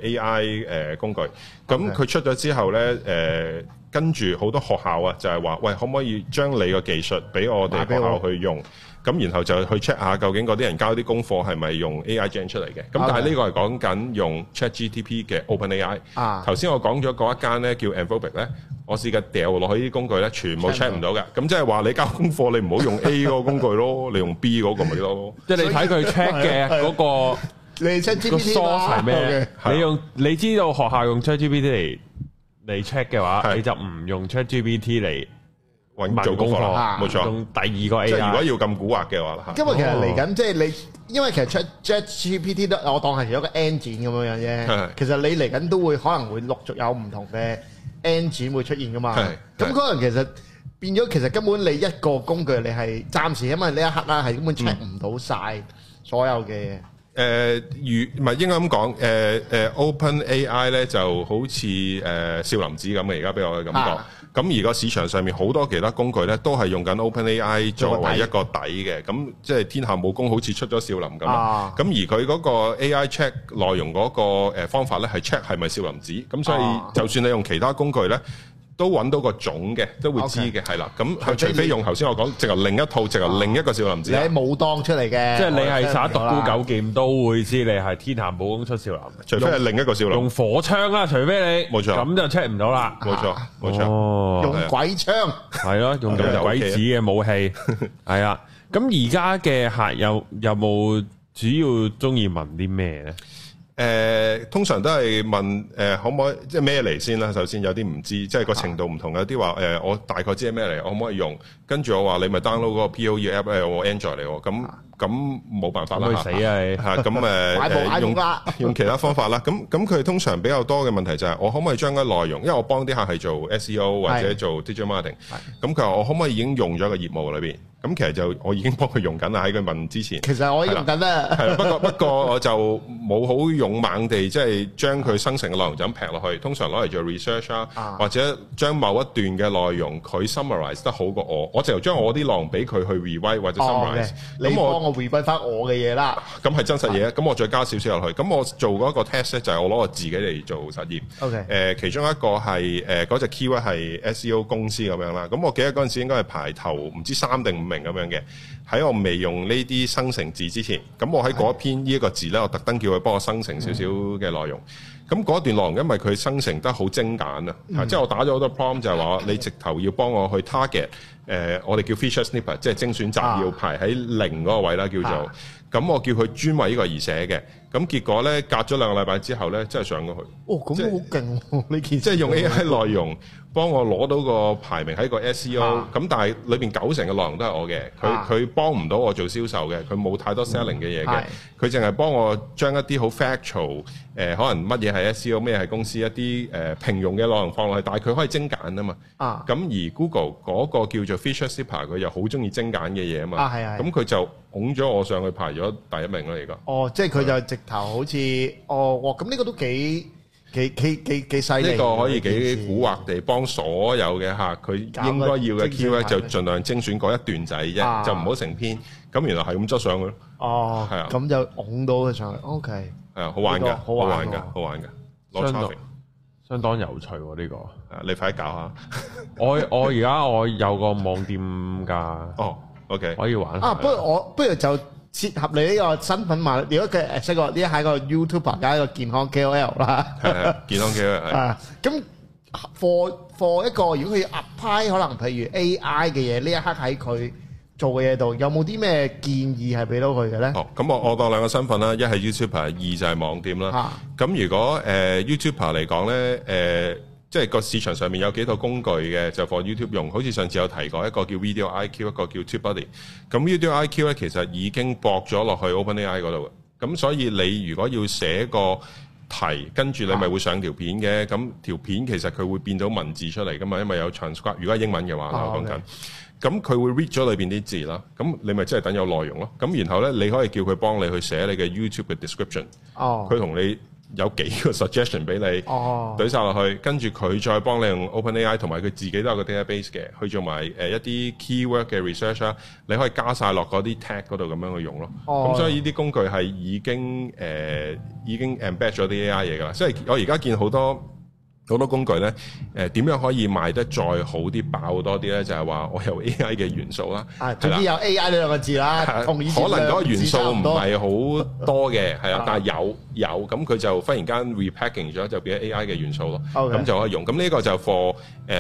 AI 工具。咁佢出咗之後咧，跟住好多學校啊，就係話，喂，可唔可以將你個技術俾我哋學校去用？咁然後就去 check 下究竟嗰啲人交啲功課係咪用 AI gen 出嚟嘅？咁但係呢個係講緊用 ChatGPT 嘅 OpenAI。頭先我講咗嗰一間咧叫 Anthropic 咧，我試過掉落去啲工具咧，全部 check 唔到嘅。咁即係話你交功課，你唔好用 A 嗰個工具咯，你用 B 嗰個咪咯。 即係你睇佢 check 嘅嗰個， 你 ChatGPT 係咩？你知道學校用 ChatGPT 嚟 check 嘅話，你就唔用 ChatGPT 嚟做功課啦，冇錯。 用第二個 AI， 即係如果要咁蠱惑嘅話， 因為其實嚟緊即係你，因為其實 ChatGPT 都我當係一個 engine 咁樣啫。其實你嚟緊都會可能會陸續有唔同嘅 engine 會出現噶嘛。咁可能其實變咗，其實根本你一個工具你係暫時，因為呢一刻啦係根本 check 唔到晒所有嘅嘢。 唔係應該咁講。OpenAI 咧就好似少林寺咁嘅，而家俾我嘅感覺。咁而個市場上面好多其他工具咧，都係用緊 OpenAI 作為一個底嘅。咁即係天下武功好似出咗少林咁。咁而佢嗰個 AI check 內容嗰個方法咧，係 check 係咪少林寺。咁所以就算你用其他工具咧，都揾到個種嘅，都會知嘅，係啦。咁除非用頭先我講，直頭另一套，直頭另一個少林寺。 你喺武當出嚟嘅， 即係你係耍獨孤九劍都會知你係天下武功出少林。 除非係另一個少林。用火槍啦，除非你冇錯， 咁就 check 唔到啦。 冇錯，冇錯。 用鬼槍係咯，用鬼子嘅武器係啊。咁而家嘅客有冇主要中意問啲咩咧？ 通常都係問可唔可以即係咩嚟先啦？首先有啲唔知，即係個程度唔同。有啲話我大概知係咩嚟，我可唔可以用？跟住我話你咪 download 嗰個 POE app 我 Android 嚟喎。咁冇辦法啦， 死啊！ 咁用其他方法啦。咁佢通常比較多嘅問題就係我可唔可以將嗰內容，因為我幫啲客係做 SEO 或者做 digital marketing。咁佢話我可唔可以已經用咗個業務裏邊？咁其實就我已經幫佢用緊啦，喺佢問之前。 其實我已經用緊啦。 係啦，不過我就冇好勇猛地即係將佢生成嘅內容就咁劈落去。通常攞嚟做 research 啊，或者將某一段嘅內容佢 summarize 得好過我就將我啲內容俾佢去 rewrite 或者 summarize。 咁我 rewrite 翻我嘅嘢啦。 咁係真實嘢，咁我再加少少落去。咁我做嗰個 test 咧，就係我攞我自己嚟做實驗。 OK。 其中一個係嗰隻 keyword 係 SEO 公司咁樣啦。咁我記得嗰陣時應該係排頭唔知3定5名咁樣嘅。喺我未用呢啲生成字之前，咁我喺嗰一篇呢一個字咧，我特登叫佢幫我生成少少嘅內容。咁嗰段內容因為佢生成得好精簡啊，即係我打咗好多 prompt 就係話你直頭要幫我去 target，我哋叫 feature snippet， 即係精選集要排喺0嗰個位啦，叫做。咁我叫佢專為呢個而寫嘅。咁結果咧，隔咗2個禮拜之後咧，真係上咗去。 咁好勁喎！呢件即係用 AI 內容幫我攞到個排名喺個 SEO，咁但係裏邊90%嘅內容都係我嘅，佢幫唔到我做銷售嘅，佢冇太多 selling 嘅嘢嘅，佢淨係幫我將一啲好 factual，可能乜嘢係 SEO，咩係公司一啲平庸嘅內容放落去，但係佢可以精簡啊嘛。咁而 Google 嗰個叫做 feature snippet，佢又好中意精簡嘅嘢啊嘛。咁佢就拱咗我上去排咗第1名啦，而家。即係佢就直頭好似咁呢個都幾犀利。呢個可以幾蠱惑地幫所有嘅客，佢應該要嘅 keyword 就盡量精選嗰一段仔啫，就唔好成篇。咁原來係咁執上去咯。係啊， 咁就拱到佢上去。OK， 係啊，好玩㗎，好玩㗎，好玩㗎，攞 traffic， 相當有趣喎呢個。 你快啲搞下。 我而家我有個網店㗎。 OK， 可以玩。 不如就切合你呢個身份嘛。如果佢識個呢係個 YouTuber 加一個健康 KOL 啦， 係健康 KOL。 咁 for 一個如果佢要 apply 可能譬如 AI 嘅嘢，呢一刻喺佢做嘅嘢度，有冇啲咩建議係俾到佢嘅咧？ 咁我當2個身份啦，一係 YouTuber， 2就係網店啦。咁如果YouTuber 嚟講咧，即係個市場上面有幾套工具嘅，就 for YouTube 用。好似上次有提過一個叫 Video IQ， 一個叫 TubeBuddy。咁 Video IQ 咧其實已經駁咗落去 OpenAI 嗰度嘅。咁所以你如果要寫個題，跟住你咪會上條片嘅。咁條片其實佢會變到文字出嚟噶嘛，因為有 transcribe。如果係英文嘅話，我講緊。咁佢會 read 咗裏邊啲字啦。咁你咪真係等有內容咯。咁然後咧，你可以叫佢幫你去寫你嘅 YouTube 嘅 description。佢同你有幾個 suggestion 俾你，懟晒落去，跟住佢再幫你用 OpenAI 同埋佢自己都有個 database 嘅，去做埋一啲 keyword 嘅 research 啦，你可以加晒落嗰啲 tag 嗰度咁樣去用咯。咁所以呢啲工具係已經 embed 咗啲 AI 嘢㗎啦。即係我而家見好多工具咧，點樣可以賣得再好啲、爆多啲咧？就係話我有 AI 嘅元素啦， 總之有 AI 呢兩個字啦， 可能嗰個元素唔係好多嘅，係啊，但係有咁佢就忽然間 repackaging 咗，就變咗 AI 嘅元素咯，咁就可以用。咁呢個就 for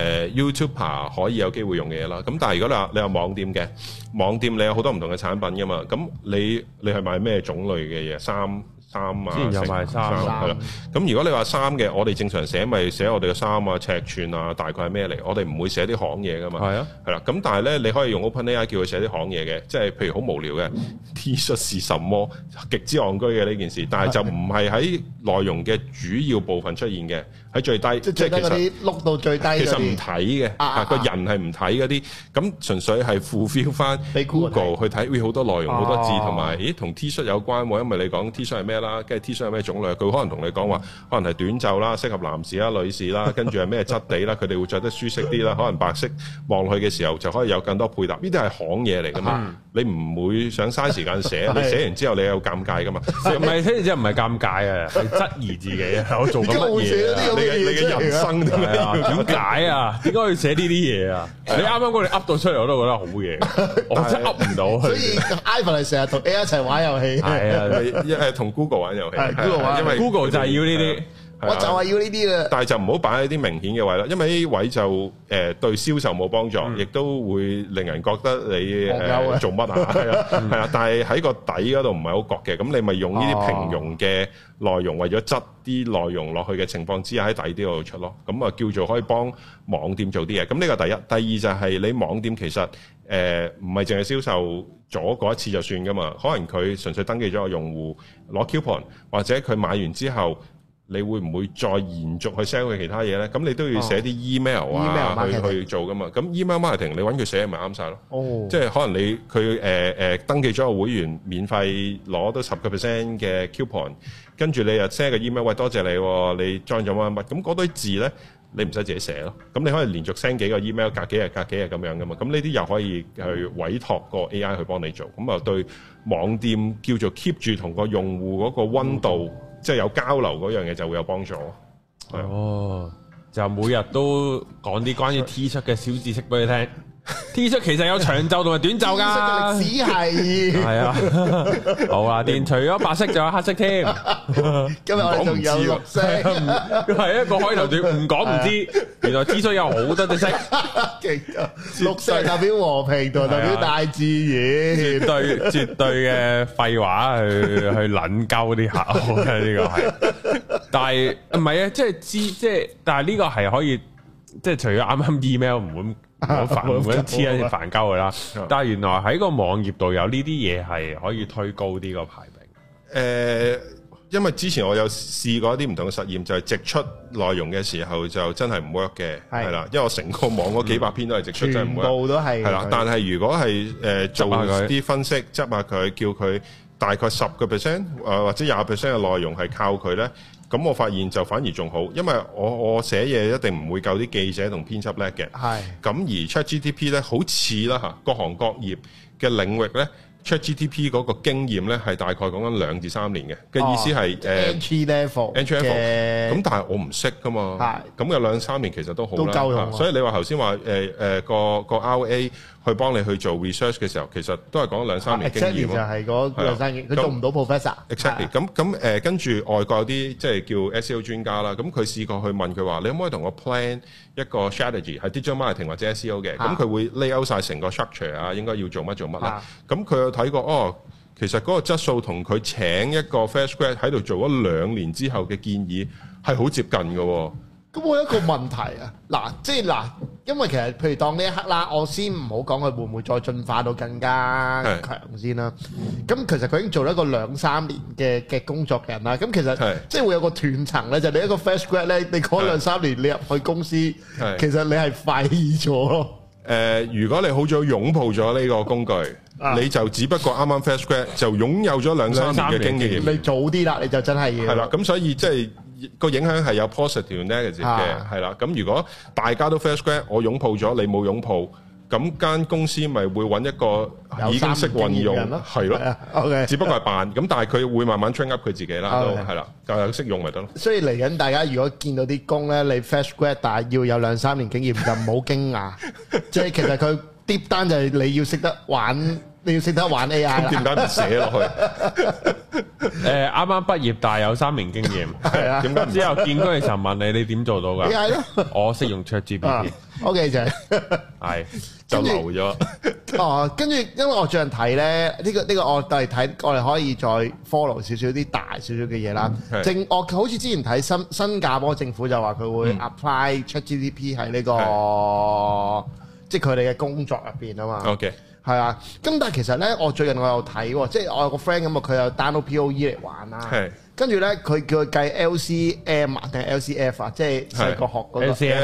YouTuber 可以有機會用嘅嘢啦。咁但係如果你有網店嘅，網店你有好多唔同嘅產品㗎嘛，咁你係買咩種類嘅嘢？衫啊， 之前有賣衫係啦。咁如果你話衫嘅，我哋正常寫咪寫我哋嘅衫啊、尺寸啊，大概係咩嚟？我哋唔會寫啲行嘢噶嘛。係啊，係啦。咁但係咧，你可以用 OpenAI 叫佢寫啲行嘢嘅，即係譬如好無聊嘅 T 恤是什麼，極之戇居嘅呢件事，但係就唔係喺內容嘅主要部分出現嘅，喺最低， 即係嗰啲碌到最低。 其實唔睇嘅，個人係唔睇嗰啲，咁純粹係 fulfill 翻 Google 去睇，好多內容好多字，同埋同 T 恤有關喎，因為你講 T 恤係咩啦，跟住 T 恤有咩種類，佢可能同你講話，可能係短袖啦，適合男士啦、女士啦，跟住係咩質地啦，佢哋會着得舒適啲啦，可能白色望落去嘅時候就可以有更多配搭，呢啲係行嘢嚟噶嘛，你唔會想嘥時間寫，你寫完之後你有尷尬噶嘛， 唔係寫完之後唔係尷尬啊，係質疑自己啊，我做緊乜嘢？ 你嘅人生點解啊？點解要寫呢啲嘢啊？你啱啱嗰你噏到出嚟，我都覺得好嘢，我真係噏唔到。 所以 Ivan 係成日同 AI 一齊玩遊戲， 係啊，同 Google 玩遊戲， 因為 Google 就係要呢啲。 我就係要呢啲啦， 但係就唔好擺喺啲明顯嘅位啦，因為呢啲位就對銷售冇幫助，亦都會令人覺得你做乜啊？係啊，但係喺個底嗰度唔係好覺嘅，咁你咪用呢啲平庸嘅內容，為咗執啲內容落去嘅情況之下喺底啲度出咯，咁啊叫做可以幫網店做啲嘢。咁呢個第一，第二就係你網店其實唔係淨係銷售咗嗰一次就算噶嘛，可能佢純粹登記咗個用戶攞 coupon， 或者佢買完之後。你會唔會再延續去 sell 佢其他嘢咧？咁你都要寫啲 email 啊，去做噶嘛？咁 email marketing 你揾佢寫咪啱晒咯。即係可能佢登記咗個會員，免費攞到10% 嘅 coupon， 跟住你又 send 個 email， 喂多謝你，你 join 咗乜乜，咁嗰堆字咧你唔使自己寫咯。咁你可以連續 send 幾個 email， 隔幾日咁樣噶嘛。咁呢啲又可以去委託個 AI 去幫你做。咁啊對網店叫做 keep 住同個用戶嗰個溫度。即係有交流嗰樣嘢就會有幫助。 哦，就每日都講啲關於 T 恤嘅小知識俾你聽。T 恤其實有長袖同埋短袖㗎。 歷史係啊，好啊，連除咗白色仲有黑色添。 今日我哋仲有綠色， 係一個開頭段唔講唔知，原來 T 恤有好多隻色。 綠色代表和平同代表大自然， 絕對嘅廢話去撚鳩啲客戶嘅呢個係。但係唔係啊？即係但係呢個係可以，即係除咗啱啱 email 唔會。好煩，唔會黐一啲煩鳩佢啦。但係原來喺個網頁度有呢啲嘢係可以推高啲個排名。 因為之前我有試過一啲唔同嘅實驗，就係直出內容嘅時候就真係唔 work 嘅，係啦。因為我成個網嗰幾百篇都係直出，真係唔 work。全部都係啦。但係如果係做啲分析，執下佢，叫佢大概10%或者20% 嘅內容係靠佢咧。咁我發現就反而仲好，因為我寫嘢一定唔會夠啲記者同編輯叻嘅。係。咁而 ChatGPT 咧，好似啦嚇，各行各業嘅領域咧，ChatGPT 嗰個經驗咧係大概講緊2至3年嘅意思係 entry level。 咁但係我唔識噶嘛。係。咁有2、3年其實都好啦。都夠用。所以你話頭先話個 RA 去幫你去做 research 嘅時候，其實都係講2、3年經驗咯。就係嗰2、3年，佢做唔到 professor。Exactly。咁跟住外國有啲即係叫 SEO 專家啦，咁佢試過去問佢話：你可唔可以同我 plan 一個 strategy 係 digital marketing 或者 SEO 嘅？咁佢會 lay out 曬成個 structure 啊，應該要做乜啦。咁佢有睇過其實嗰個質素同佢請一個 fresh grad 喺度做咗2年之後嘅建議係好接近嘅。 咁我有一個問題啊，因為其實譬如當呢一刻啦，我先唔好講佢會唔會再進化到更加強先啦。咁其實佢已經做咗一個2、3年嘅工作嘅人啦。咁其實即係會有個斷層咧，就你一個 fresh grad 咧，你嗰2、3年你入去公司，其實你係廢咗咯。 如果你好早擁抱咗呢個工具， 你就只不過啱啱 fresh grad 就擁有咗2-3年嘅經驗。 你早啲啦，你就真係要。 係啦，咁所以即係個影響係有 positive negative 嘅，係啦。咁如果大家都 fresh grad，我擁抱咗，你冇擁抱。咁間公司咪會揾一個已經識運用，係咯，OK，只不過係扮咁，但係佢會慢慢 train up 佢自己啦，都係啦，就係識用咪得咯。所以嚟緊大家如果見到啲工咧，你 fresh grad 但係要有2-3年經驗，就唔好驚訝，即係其實佢 deep down 就係你要識得玩。你要識得玩 AI 啦， 點解唔寫落去？ 啱啱畢業，但係有3年經驗，係啊。點解之後見工嘅時候問你點做到㗎 ？AI 咯， 我識用 ChatGPT。 OK 就係就留咗。 哦，跟住因為我最近睇咧，呢個我哋睇，我哋可以再 follow 少少啲大少少嘅嘢啦。我好似之前睇新加坡政府就話佢會 apply ChatGPT 喺呢個即係佢哋嘅工作入邊啊嘛。 OK。 係啊，咁但係其實咧，我最近我有睇喎，即係我有個 friend 咁啊，佢有 download POE 嚟玩啦。係。跟住咧，佢叫佢計 LCM 定係 LCF 啊，即係細個學嗰個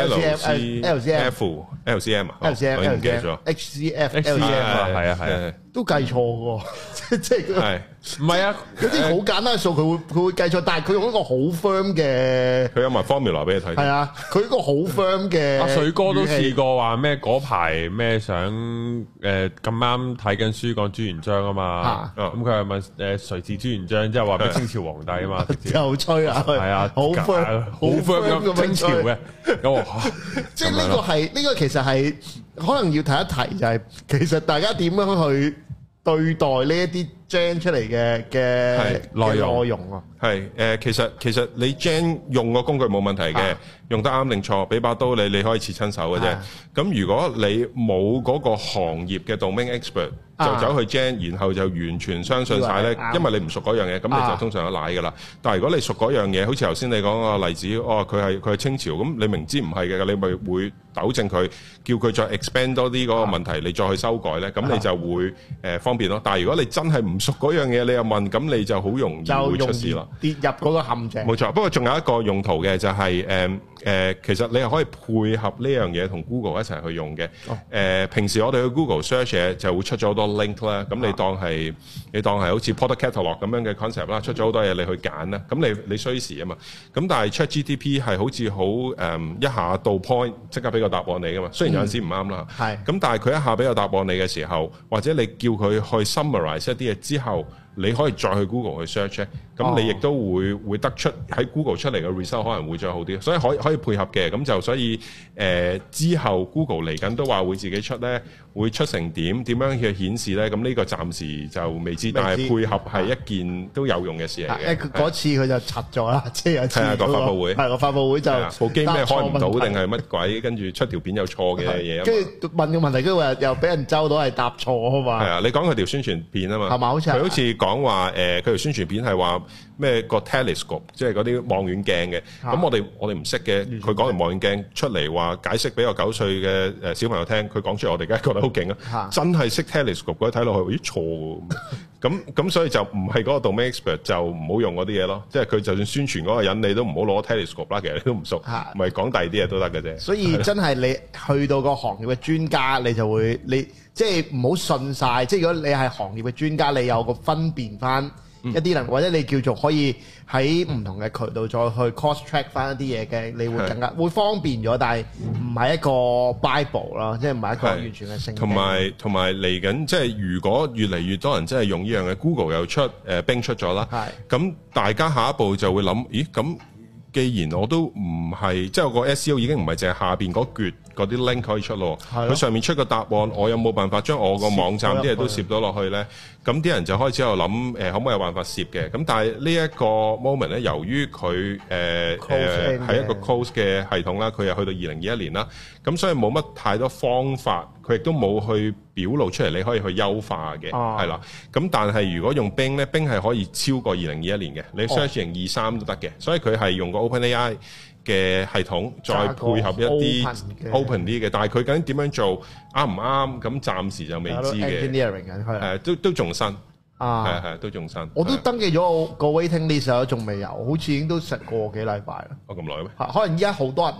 LCM 啊 ，LCM 我唔記得咗 HCF LCM 啊， 係啊係啊， 都計錯喎，即係係唔係啊？ 有啲好簡單嘅數，佢會計錯，但係佢用一個好 firm 嘅， 佢有埋 formula 俾你睇。 係啊，佢一個好 firm 嘅。 阿水哥都試過話咩嗰排咩想咁啱睇緊書講朱元璋啊嘛，咁佢係問誰是朱元璋，即係話俾清朝皇帝。 又吹啊！ 係啊， 好 firm 咁清朝嘅咁， 即係呢個其實係可能要提一提，就係其實大家點樣去對待呢一啲 gen 出嚟嘅內容啊？ 係其實你 gen 用個工具冇問題嘅，用得啱定錯，俾把刀你可以切親手嘅啫。咁如果你冇嗰個行業嘅 domain expert，就走去 gen，然後就完全相信晒咧，因為你唔熟嗰樣嘢，咁你就通常有奶噶啦。但係如果你熟嗰樣嘢，好似頭先你講個例子，佢係清朝，咁你明知唔係嘅，你咪會糾正佢，叫佢再 expand 多啲嗰個問題，你再去修改咧，咁你就會方便咯。但係如果你真係唔熟嗰樣嘢，你又問，咁你就好容易會出事咯， 跌入嗰個陷阱。 冇錯，不過仲有一個用途嘅就係其實你係可以配合呢樣嘢同 Google 一齊去用嘅。平時我哋去 Google search 嘢就會出咗好多 link 啦，咁你當係好似 product catalog 咁樣嘅 concept 啦，出咗好多嘢你去揀啦，咁你需時啊嘛。咁但係 ChatGPT 係好似好一下到 point 即刻俾個答案你噶嘛，雖然有陣時唔啱啦。咁但係佢一下俾個答案你嘅時候，或者你叫佢去 summarize 一啲嘢之後，你可以再去 Google 去 search 咁你亦都會得出喺 Google 出嚟嘅 result 可能會再好啲，所以可以配合嘅。咁就所以之後 Google 嚟緊都話會自己出咧，會出成點樣去顯示咧？咁呢個暫時就未知，但係配合係一件都有用嘅事嚟嘅。 嗰次佢就拆咗啦，即係有次個發佈會， 個發佈會就部機咩開唔到定係乜鬼，跟住出條片有錯嘅嘢。 跟住問個問題，跟住又俾人揪到係答錯啊嘛。 係啊，你講佢條宣傳片啊嘛， 係嘛？佢好似講話佢條宣傳片係話咩個 telescope，即係嗰啲望遠鏡嘅。咁我哋唔識嘅，佢講完望遠鏡出嚟話解釋俾個9歲嘅小朋友聽，佢講出嚟我哋梗係覺得好勁啊！真係識 telescope 嗰啲睇落去，咦錯喎！咁所以就唔係嗰個 domain expert 就唔好用嗰啲嘢咯。即係佢就算宣傳嗰個人，你都唔好攞 telescope 啦。其實你都唔熟，咪講第二啲嘢都得嘅啫。所以真係你去到個行業嘅專家，你就會即係唔好信晒。即係如果你係行業嘅專家，你有個分辨翻一啲人，或者你叫做可以喺唔同嘅渠道再去 cross check 翻一啲嘢嘅，你會更加會方便咗，但係唔係一個 Bible 啦，即係唔係一個完全嘅聖經。同埋嚟緊，即係如果越嚟越多人真係用呢樣嘅 Google 又出Bing 出咗啦，咁大家下一步就會諗，咦咁既然我都唔係，即係我個 SEO 已經唔係淨係下邊嗰橛嗰啲 link 可以出咯，佢上面出個答案，我有冇辦法將我個網站啲嘢都攝到落去咧？咁啲人就開始喺度諗，可唔可以有辦法攝嘅？咁但係呢一個 moment 咧，由於佢係一個 close 嘅系統啦，佢又去到2021年啦，咁所以冇乜太多方法，佢亦都冇去表露出嚟，你可以去優化嘅，係啦。咁但係如果用 Bing 咧，Bing 係可以超過2021年嘅，你 search 2023都得嘅，所以佢係用個 OpenAI 嘅系統再配合一啲 open 啲嘅，但係佢究竟點樣做啱唔啱？咁暫時就未知嘅。都仲新係都仲新。 我都登記咗個 waiting list 仲未有，好似已經都成個幾禮拜啦。 咁耐咩？ 可能依家好多人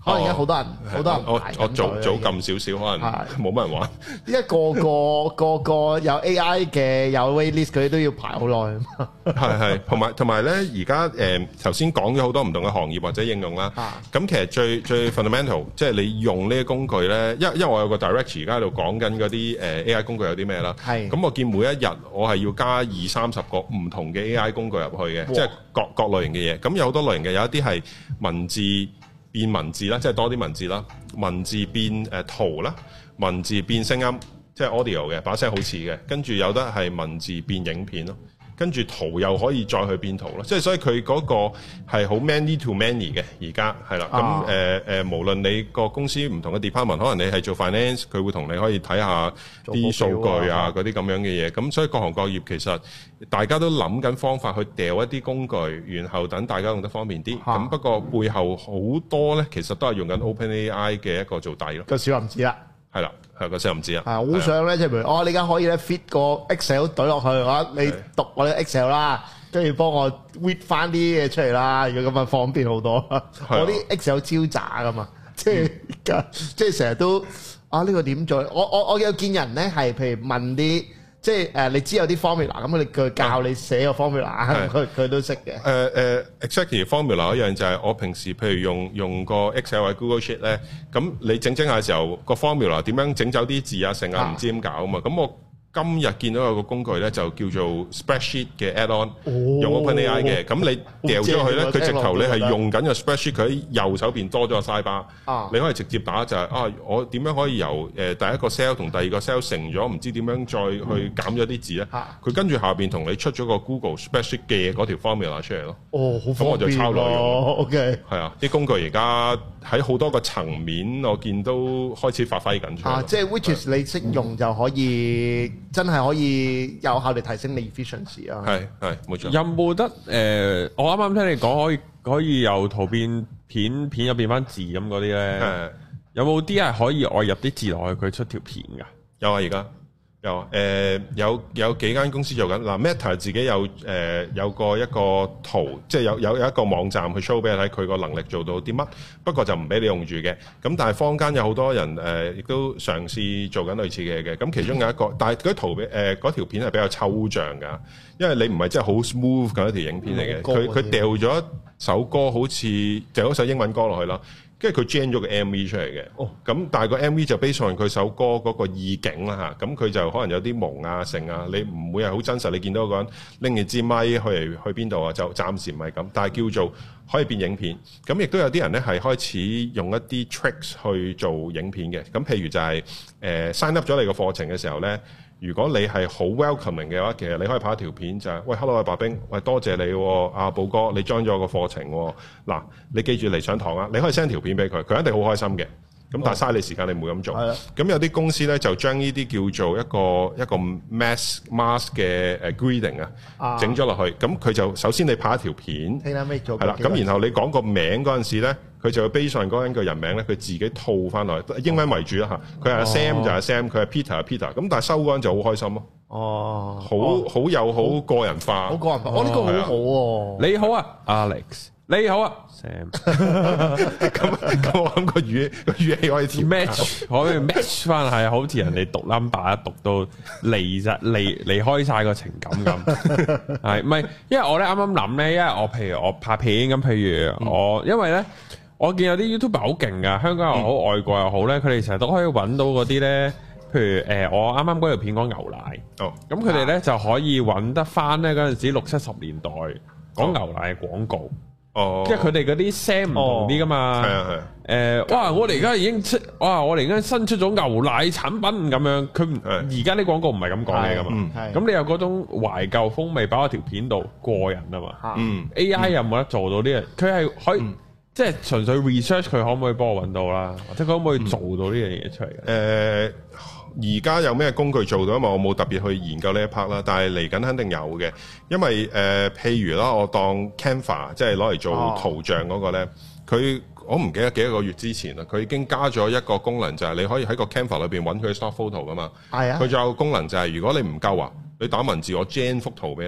可能而家好多人我早撳少少，可能冇乜人玩。 依家個個有 AI 嘅有 waitlist，佢都要排好耐。 係同埋咧，而家頭先講咗好多唔同嘅行業或者應用啦。咁其實最 fundamental， 即係你用呢啲工具咧，因為我有個 director 而家喺度講緊嗰啲AI 工具有啲咩啦。咁我見每一日我係要加20-30個唔同嘅 AI 工具入去嘅，即係各類型嘅嘢。咁有好多類型嘅，有一啲係文字變文字啦，即係多啲文字啦，文字變圖啦，文字變聲音，即係 audio 嘅，把聲好似嘅，跟住有得係文字變影片咯，跟住圖又可以再去變圖咯，即係所以佢嗰個係好 many to many 嘅，而家係啦，咁無論你個公司唔同嘅 department， 可能你係做 finance， 佢會同你可以睇下啲數據啊嗰啲咁樣嘅嘢，咁所以各行各業其實大家都諗緊方法去掉一啲工具，然後等大家用得方便啲。咁不過背後好多咧，其實都係用緊 OpenAI 嘅一個做底咯。 個小林子啦， 係啦，係個小林子啊。係好想咧，即係譬如你而家可以咧 fit 個 Excel 懟落去，你讀我啲 Excel 啦，跟住幫我 read 翻啲嘢出嚟啦。如果咁啊，方便好多。我啲 Excel 超渣噶嘛，即係成日都呢個點做？我有見人咧係譬如問啲。即係你知有啲 formula， 咁佢教你寫個 formula， 佢都識嘅。 exactly formula 一樣就係我平時譬如用個 Excel 或者 Google Sheet 咧，咁你整下嘅時候個 formula 點樣整走啲字啊成啊唔知點搞啊嘛，咁我今日見到有個工具咧就叫做 Spreadsheet 嘅 add-on，用 OpenAI 嘅，咁你掉咗佢咧，佢直頭你係用緊個 Spreadsheet，佢喺右手邊多咗個 sidebar，你可以直接打就係我點樣可以由第一個 cell 同第二個 cell 乘咗，唔知點樣再去減咗啲字咧，佢跟住下邊同你出咗個 Google Spreadsheet 嘅嗰條 formula 出嚟咯。 好方便。咁我就抄內容。OK。 係啊，啲工具而家喺好多個層面，我見都開始發揮緊出嚟。 即係 which is 你識用就可以。真係可以有效地提升你 efficiency 啊！ 係冇錯。 有冇得我啱啱聽你講可以由圖變片，片又變翻字咁嗰啲咧？有冇啲係可以外入啲字落去，佢出條片㗎？ 有啊，而家有幾間公司做緊。嗱 Meta 自己有一個圖，即係有一個網站去 show 俾你睇佢個能力做到啲乜，不過就唔俾你用住嘅。咁但係坊間有好多人亦都嘗試做緊類似嘅嘢嘅。咁其中有一個，但係嗰圖嗰條片係比較抽象㗎，因為你唔係真係好 smooth 嘅一條影片嚟嘅。佢掉咗一首歌，好似掉咗首英文歌落去啦。跟住佢 gen 咗個 MV 出嚟嘅，咁但係個 MV 就 base on佢首歌嗰個意境啦嚇，咁佢就可能有啲蒙啊成啊，你唔會係好真實，你見到個人拎住支咪去邊度啊，就暫時唔係咁，但係叫做可以變影片，咁亦都有啲人咧係開始用一啲 tricks 去做影片嘅，咁譬如就係sign up 咗你個課程嘅時候咧。如果你係好 welcoming 嘅話，其實你可以拍一條片就係、是，喂 hello 白兵，喂多謝你，阿寶哥，你 join 咗個課程，嗱你記住嚟上堂啊，你可以 send 條片俾佢，佢一定好開心嘅。咁但係嘥你時間，你唔會咁做。咁有啲公司咧就將呢啲叫做一個 mass 嘅greeting 啊，整咗落去。咁佢就首先你拍一條片，係啦。咁然後你講個名嗰陣時咧，佢就會 base on 嗰個人名咧，佢自己套翻落去，英文為主啦嚇。佢係 Sam 就係 Sam，佢係 Peter 係 Peter。咁但係收嗰陣就好開心咯。好有好個人化。好個人化，呢個好好喎。 你好啊 ，Alex。你好啊 ，Sam。 咁我諗個語氣可以 match，可以 match 翻係好似人哋讀 number 一讀到離開晒個情感咁。係唔係？因為我咧啱啱諗咧，因為我譬如我拍片咁，譬如我因為咧，我見有啲 YouTuber 好勁噶，香港又好，外國又好咧，佢哋成日都可以揾到嗰啲咧，譬如我啱啱嗰條片講牛奶，咁佢哋咧就可以揾得翻咧嗰陣時60-70年代講牛奶嘅廣告。即係佢哋嗰啲聲唔同啲噶嘛，哇！我哋而家已經我哋而家新出咗牛奶產品咁樣，佢而家啲廣告唔係咁講嘢噶嘛，咁你有嗰種懷舊風味擺喺條片度過癮啊嘛，AI 有冇得做到呢樣？佢係可以即係純粹 research 佢可唔可以幫我揾到啦，或者佢可唔可以做到呢樣嘢出嚟嘅？ 而家有咩工具做到？因為我冇特別去研究呢一 part 啦，但係嚟緊肯定有嘅。因為譬如啦，我當 Canva 即係攞嚟做圖像嗰個咧，我唔記得幾多個月之前啦，佢已經加咗一個功能，就係你可以喺個 Canva 裏邊揾佢 stock photo 噶嘛。係啊。佢仲有個功能就係如果你唔夠啊，你打文字我 gen 幅圖俾你。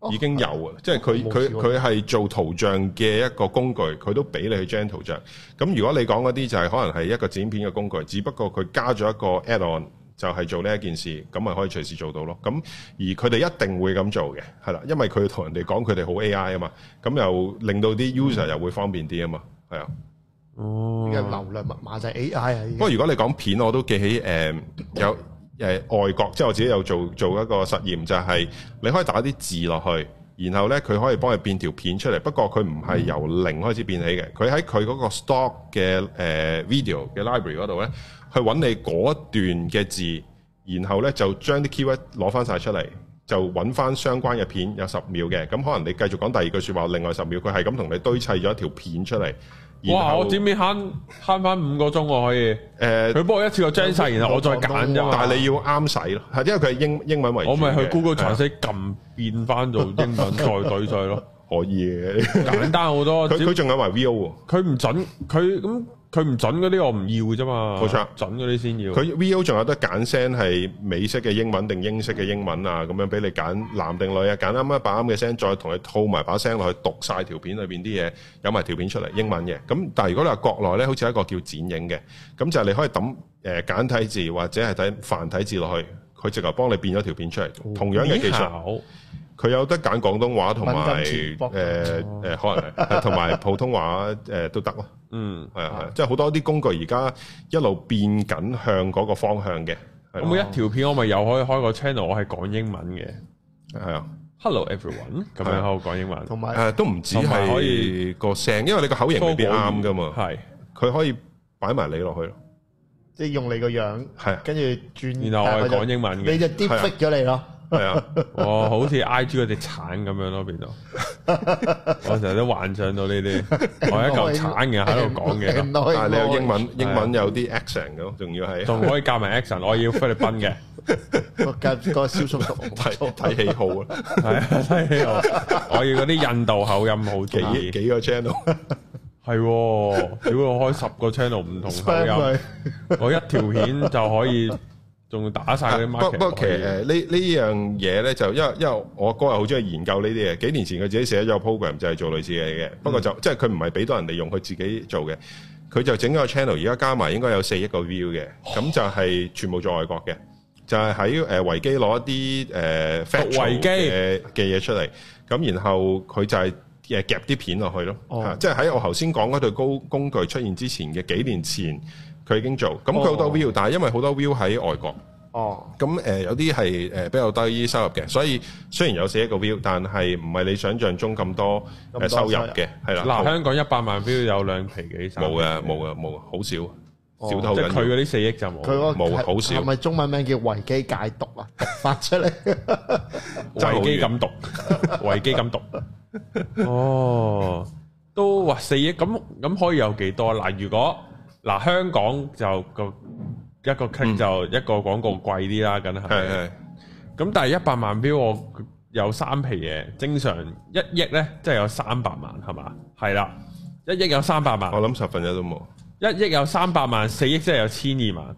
已經有啊，即係佢係做圖像嘅一個工具，佢都俾你去 generate 圖像。咁如果你講嗰啲就係可能係一個剪片嘅工具，只不過佢加咗一個 add-on，就係做呢一件事，咁咪可以隨時做到咯。咁而佢哋一定會咁做嘅，係啦，因為佢同人哋講佢哋好 AI 啊嘛，咁又令到啲 user 又會方便啲啊嘛，係啊。 哦，流量密碼就係 AI 啊。不過如果你講片，我都記起有外國，即係我自己有做一個實驗，就係你可以打啲字落去，然後咧佢可以幫你變條片出嚟。不過佢唔係由零開始變起嘅，佢喺佢嗰個 stock 嘅video 嘅 library 嗰度咧，去揾你嗰段嘅字，然後咧就將啲 keyword 攞翻晒出嚟，就揾翻相關嘅片，有10秒嘅。咁可能你繼續講第二句説話，另外10秒佢係咁同你堆砌咗一條片出嚟。 哇！我剪片慳翻5個鐘喎，可以。佢幫我一次過將晒，然後我再揀啫嘛。 但係你要啱使咯，係因為佢係英文為主。 我咪去 Google Translate 撳變翻做英文再對晒咯。 可以嘅， 簡單好多。 佢仲有埋 VO 喎。 佢唔準，佢唔準嗰啲我唔要啫嘛。 冇錯， 準嗰啲先要。 佢 VO 仲有得揀聲係美式嘅英文定英式嘅英文啊，咁樣俾你揀男定女啊，揀啱一把啱嘅聲，再同佢套埋把聲落去讀晒條片裏邊啲嘢，有埋條片出嚟英文嘅。咁但係如果你話國內咧，好似一個叫剪影嘅，咁就係你可以揼簡體字或者係睇繁體字落去，佢直頭幫你變咗條片出嚟。同樣嘅技術。佢有得揀廣東話同埋可能同埋普通話都得咯。嗯，係啊，即係好多啲工具而家一路變緊向嗰個方向嘅。 咁每一條片我咪又可以開個 channel，我係講英文嘅。 係啊 ，Hello everyone，咁樣喺度講英文。 同埋都唔止係可以個聲，因為你個口型未必啱噶嘛。 係， 佢可以擺埋你落去咯。 即係用你個樣， 係， 跟住轉， 然後我係講英文嘅， 你就 deepfake咗你咯。 係啊， 哦，好似 IG 嗰隻橙咁樣咯，變到我成日都幻想到呢啲，我一嚿橙嘅喺度講嘅， 但係你有英文有啲 accent 嘅，仲要係， 仲可以加埋 accent，我要菲律賓嘅， 個小叔叔睇喜好啊， 係啊，睇喜好，我要嗰啲印度口音好幾個 channel， 係，如果我開10個 channel 唔同口音，我一條片就可以。仲打晒嗰啲 market。不過其實呢樣嘢咧，就因為我哥又好中意研究呢啲嘢。幾年前佢自己寫咗個 program 就係做類似嘅嘢嘅。不過就即係佢唔係俾到人哋用，佢自己做嘅。佢就整咗個 channel，而家加埋應該有4億個 view 嘅。咁就係全部做外國嘅，就係喺維基攞一啲維基嘅嘢出嚟。咁然後佢就係夾啲片落去咯。即係喺我頭先講嗰對工具出現之前嘅幾年前。佢已經做，咁佢好多 view，但係因為好多 view 喺外國，咁有啲係比較低收入嘅，所以雖然有4億個 view，但係唔係你想象中咁多收入嘅，係啦。 嗱，香港100萬 view 有2皮幾， 冇，好少，少得好緊要。 即係佢嗰啲4億就冇， 冇好少。 係咪中文名叫維基解讀啊？發出嚟， 維基咁讀，維基咁讀。哦，都話4億，咁可以有幾多？嗱，如果香港就一個 click 就一個廣告貴啲啦，梗係。係。咁但係100萬標我有3皮嘢，正常1億咧，即係有300萬係嘛？係啦，1億有300萬。 我諗1/10都冇。 1億有300萬，4億即係有12,000萬。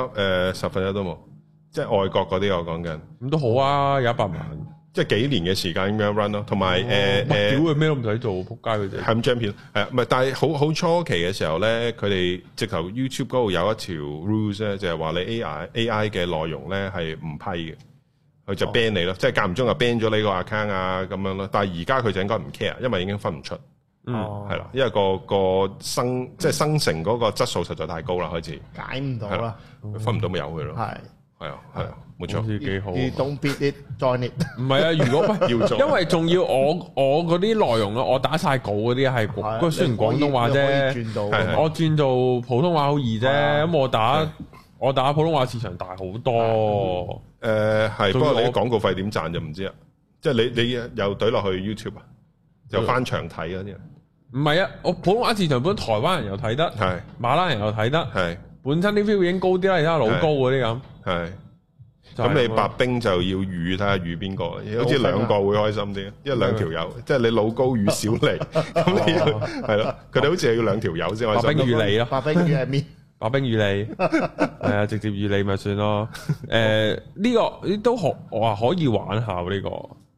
1/10都冇，即係外國嗰啲我講緊。 咁都好啊，有100萬。即係幾年嘅時間咁樣 run 咯，同埋屌佢咩都唔使做，仆街佢哋係咁張片，係啊，唔係，但係好初期嘅時候咧，佢哋直頭 YouTube 嗰度有一條 rules 咧，就係話你 AI 嘅內容咧係唔批嘅，佢就 ban 你咯，即係間唔中就 ban 咗你個 account 啊咁樣咯。但係而家佢就應該唔 care，因為已經分唔出，係啦，因為個生成嗰個質素實在太高啦，開始解唔到啦， 分唔到咪由佢咯，係啊，冇錯， 好似幾好。 You don't beat it, join it。 唔係啊，如果要做，因為仲要我嗰啲內容咧，我打晒稿嗰啲係，不過雖然廣東話啫，我轉做普通話好易啫。咁我打普通話市場大好多。 係，不過你廣告費點賺就唔知啦。即係你又懟落去 YouTube 啊，又翻牆睇嗰啲人。唔係啊，我普通話市場本台灣人又睇得，係馬拉人又睇得，係。本身啲 view 已經高啲啦，而家老高嗰啲咁。係， 咁你白兵就要預睇下預邊個，好似2個會開心啲，因為2條友，即係你老高預小黎，咁你係咯，佢哋好似係要2條友先開心。 白兵預你咯， 白兵預係咩？ 白兵預你，係啊，直接預你咪算咯。呢個都我話可以玩下呢個，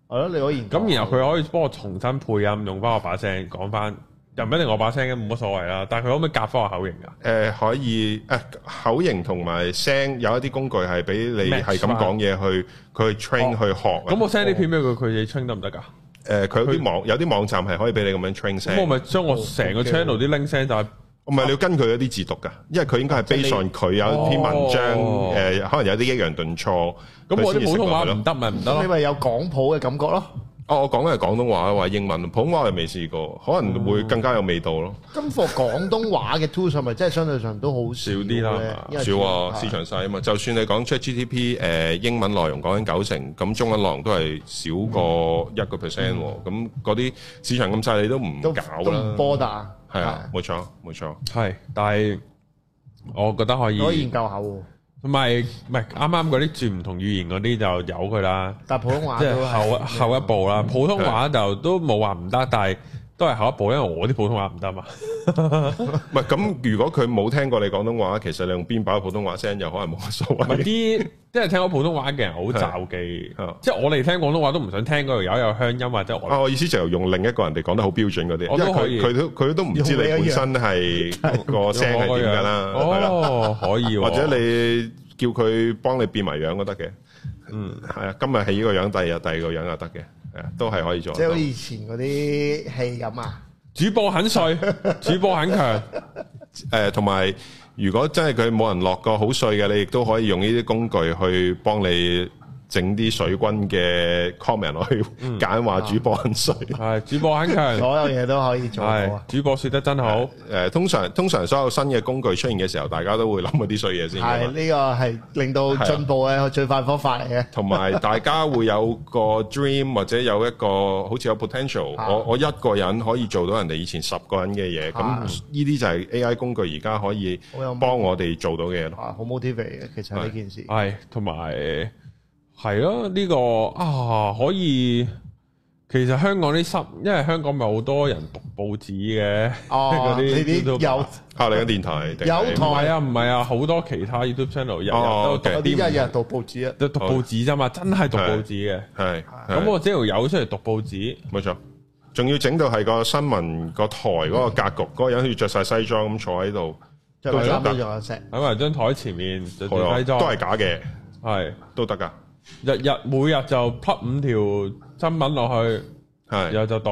係咯，你可以咁，然後佢可以幫我重新配音，用翻我把聲講翻，又唔一定我把聲嘅，冇乜所謂啦。但係佢可唔可以夾翻我口型㗎？ 可以口型同埋聲有一啲工具係俾你係咁講嘢去，佢去 train 去學。 咁我 send 啲片俾佢，佢哋 train 得唔得㗎？ 佢有啲網站係可以俾你咁樣 train 聲。 咁我咪將我成個 channel 啲 link 聲就係。 唔係你要跟佢嗰啲字讀㗎，因為佢應該係 based on佢有篇文章，可能有啲抑揚頓挫。 咁我啲普通話唔得咪唔得咯？ 你咪有廣普嘅感覺咯。 我講嘅係廣東話，話英文，普通話我未試過，可能會更加有味道咯。 今課廣東話嘅 tools 係咪真係相對上都好少啲啦？ 少啊，市場細啊嘛。就算你講 ChatGPT 英文內容講緊90%，咁中文內容都係少過1%喎。咁嗰啲市場咁細，你都唔搞啦， 都唔波打。 係啊，冇錯冇錯。 係，但係我覺得可以研究下喎。 同埋唔係啱啱嗰啲轉唔同語言嗰啲就由佢啦。 但係普通話即係後一步啦。普通話就都冇話唔得，但係都係後一步，因為我啲普通話唔得嘛。 唔係咁，如果佢冇聽過你廣東話，其實你用邊把普通話聲又可能冇乜所謂。 啲即係聽過普通話嘅人好罩忌，即係我哋聽廣東話都唔想聽嗰條友有鄉音或者我意思就用另一個人哋講得好標準嗰啲，因為佢都唔知你本身係個聲係點㗎啦。 哦，可以， 或者你叫佢幫你變埋樣都得嘅。係啊，今日係呢個樣，第二日第二個樣又得嘅，係啊，都係可以做。 即係好似以前嗰啲戲咁啊。 主播很帥，主播很強。 同埋如果真係佢冇人落個好帥嘅，你亦都可以用呢啲工具去幫你整啲水軍嘅 comment 落去揀話主播很帥， 係主播很強， 所有嘢都可以做到啊！ 主播說得真好。 通常所有新嘅工具出現嘅時候，大家都會諗嗰啲衰嘢先。 係呢個係令到進步嘅最快方法嚟嘅。 同埋大家會有個 dream 或者有一個好似有 potential，我一個人可以做到人哋以前10個人嘅嘢，咁呢啲就係 AI 工具而家可以幫我哋做到嘅嘢咯。 好 motivate 嘅，其實呢件事係同埋。係咯，呢個可以。其實香港啲因為香港咪好多人讀報紙嘅，嗰啲有你嘅電台有台唔係啊，好多其他 YouTube channel 日日都讀啲， 日日讀報紙啊， 都讀報紙啫嘛，真係讀報紙嘅。 係咁我只條友出嚟讀報紙， 冇錯。仲要整到係個新聞個台嗰個格局，嗰個人要着晒西裝咁坐喺度， 都得。 喺埋張台前面着住西裝， 都係假嘅， 係都得㗎。 每日就 plug 5條新聞落去，然後就讀。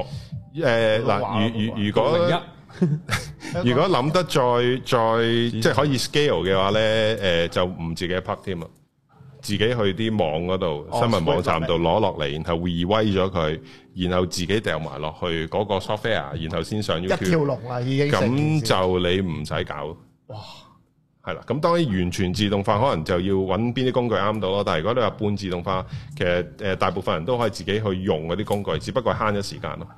如果諗得再即係可以 scale 嘅話咧，就唔自己 plug 添啊，自己去啲網嗰度新聞網站度攞落嚟，然後 reweigh 咗佢，然後自己掉埋落去嗰個 software，然後先上 YouTube。 一條龍啦，已經咁就你唔使搞。哇！係啦，咁當然完全自動化可能就要揾邊啲工具啱到咯。但係如果你話半自動化，其實大部分人都可以自己去用嗰啲工具，只不過慳咗時間咯。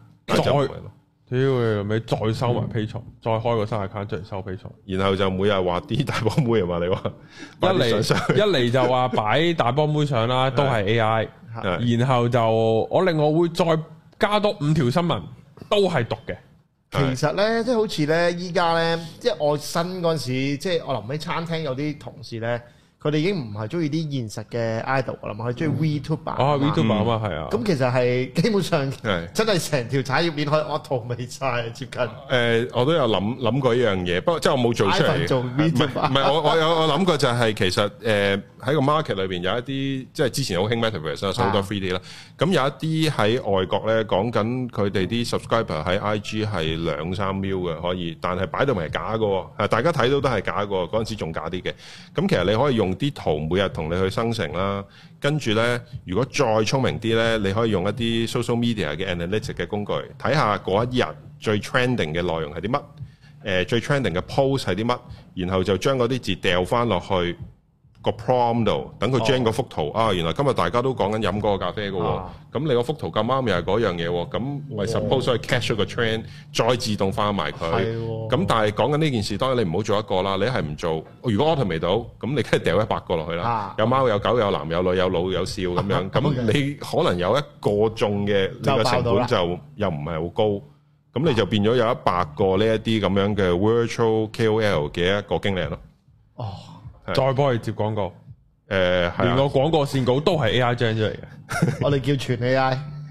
再收埋 Patreon，再開個新 account 出嚟收 Patreon，然後就每日畫啲大波妹啊嘛，你話一嚟就話擺大波妹上啦，都係 AI，然後就我另外會再加多5條新聞，都係讀嘅。 其實咧，即係好似咧，依家咧，即係我新嗰陣時，即係我臨尾餐廳有啲同事咧，佢哋已經唔係中意啲現實嘅 idol 啦嘛，佢中意 VTuber。 VTuber 啊嘛，係啊。咁其實係基本上真係成條產業鏈可以 automate晒接近。 我都有諗過呢樣嘢，不過即係我冇做出嚟。 做 VTuber。 唔係我諗過就係其實喺個 market 裏邊有一啲即係之前好興 Metaverse 啦，好多 3D 啦。咁有一啲喺外國咧講緊佢哋啲 subscriber 喺 IG 係2-3 mil 嘅可以，但係擺到明係假嘅，大家睇到都係假嘅，嗰陣時仲假啲嘅。咁其實你可以用啲圖每日同你去生成啦，跟住咧如果再聰明啲咧，你可以用一啲 social media 嘅 analytics 嘅工具，睇下嗰一日最 trending 嘅內容係啲乜，最 trending 嘅 post 係啲乜，然後就將嗰啲字掉翻落去個 prompt 度，等佢 generate 嗰幅圖原來今日大家都講緊飲嗰個咖啡嘅喎，咁你個幅圖咁啱又係嗰樣嘢喎，咁我 suppose 可以 catch 咗個 trend，再自動化埋佢。咁但係講緊呢件事，當然你唔好做一個啦，你係唔做，如果 automate 到，咁你梗係掉100個落去啦，有貓有狗有男有女有老有少咁樣，咁你可能有一個中嘅，你個成本就又唔係好高，咁你就變咗有100個呢一啲咁樣嘅 virtual KOL 嘅一個經理人咯。 再幫佢接廣告，連個廣告線稿都係 AI generate 出嚟嘅。 我哋叫全 AI，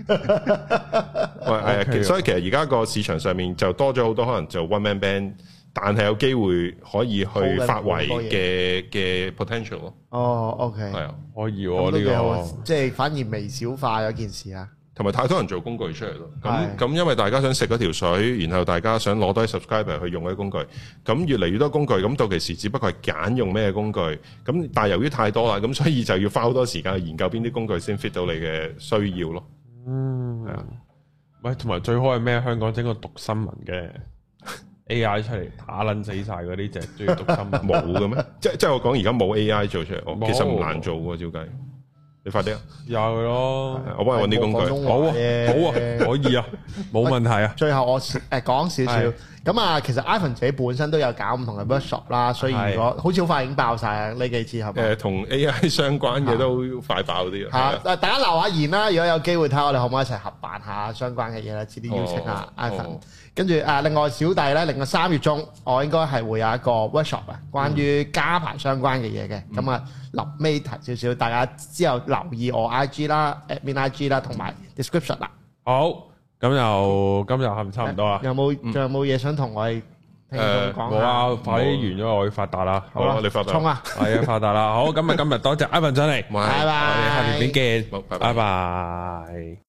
喂，所以其實而家個市場上面就多咗好多可能做 one man band， 但係有機會可以去發圍嘅 potential 咯。 哦 ，OK， 係啊，可以喎呢個， 即係反而微小化嗰件事啊。 同埋太多人做工具出嚟咯，咁因為大家想食嗰條水，然後大家想攞多啲 subscriber 去用嗰啲工具，咁越嚟越多工具，咁到其時只不過係揀用咩工具，咁但係由於太多啦，咁所以就要花好多時間去研究邊啲工具先 fit 到你嘅需要咯。係啊， 喂，同埋最好係咩？香港整個讀新聞嘅 AI 出嚟打撚死晒嗰啲隻中意讀新聞冇嘅咩？即係我講而家冇 AI 做出嚟，其實唔難做喎，照計。你快啲啊！ 有咯， 我幫你揾啲工具。 好啊，可以啊，冇問題啊。 最後我講少少咁啊，其實 Ivan 自己本身都有搞唔同嘅 workshop 啦，所以如果好似好快已經爆晒啊呢幾次係咪？ 同 AI 相關嘅都快爆啲啊！ 大家留下言啦，如果有機會睇下我哋可唔可以一齊合辦下相關嘅嘢啦，遲啲邀請下 Ivan。跟住另外小弟咧，另外3月中我應該係會有一個 workshop 啊，關於加牌相關嘅嘢嘅。咁啊，臨尾提少少，大家之後留意我 IG 啦、admin IG 啦，同埋 description 啦。 好，咁就今日係咪差唔多啦？ 仲有冇嘢想同我哋聽眾講？ 冇啊，快啲完咗我要發達啦。 好啦，你發達。 衝啊！ 係啊，發達啦。好，今日多謝 Ivan 上嚟， 拜拜。 我哋下條片見，拜拜。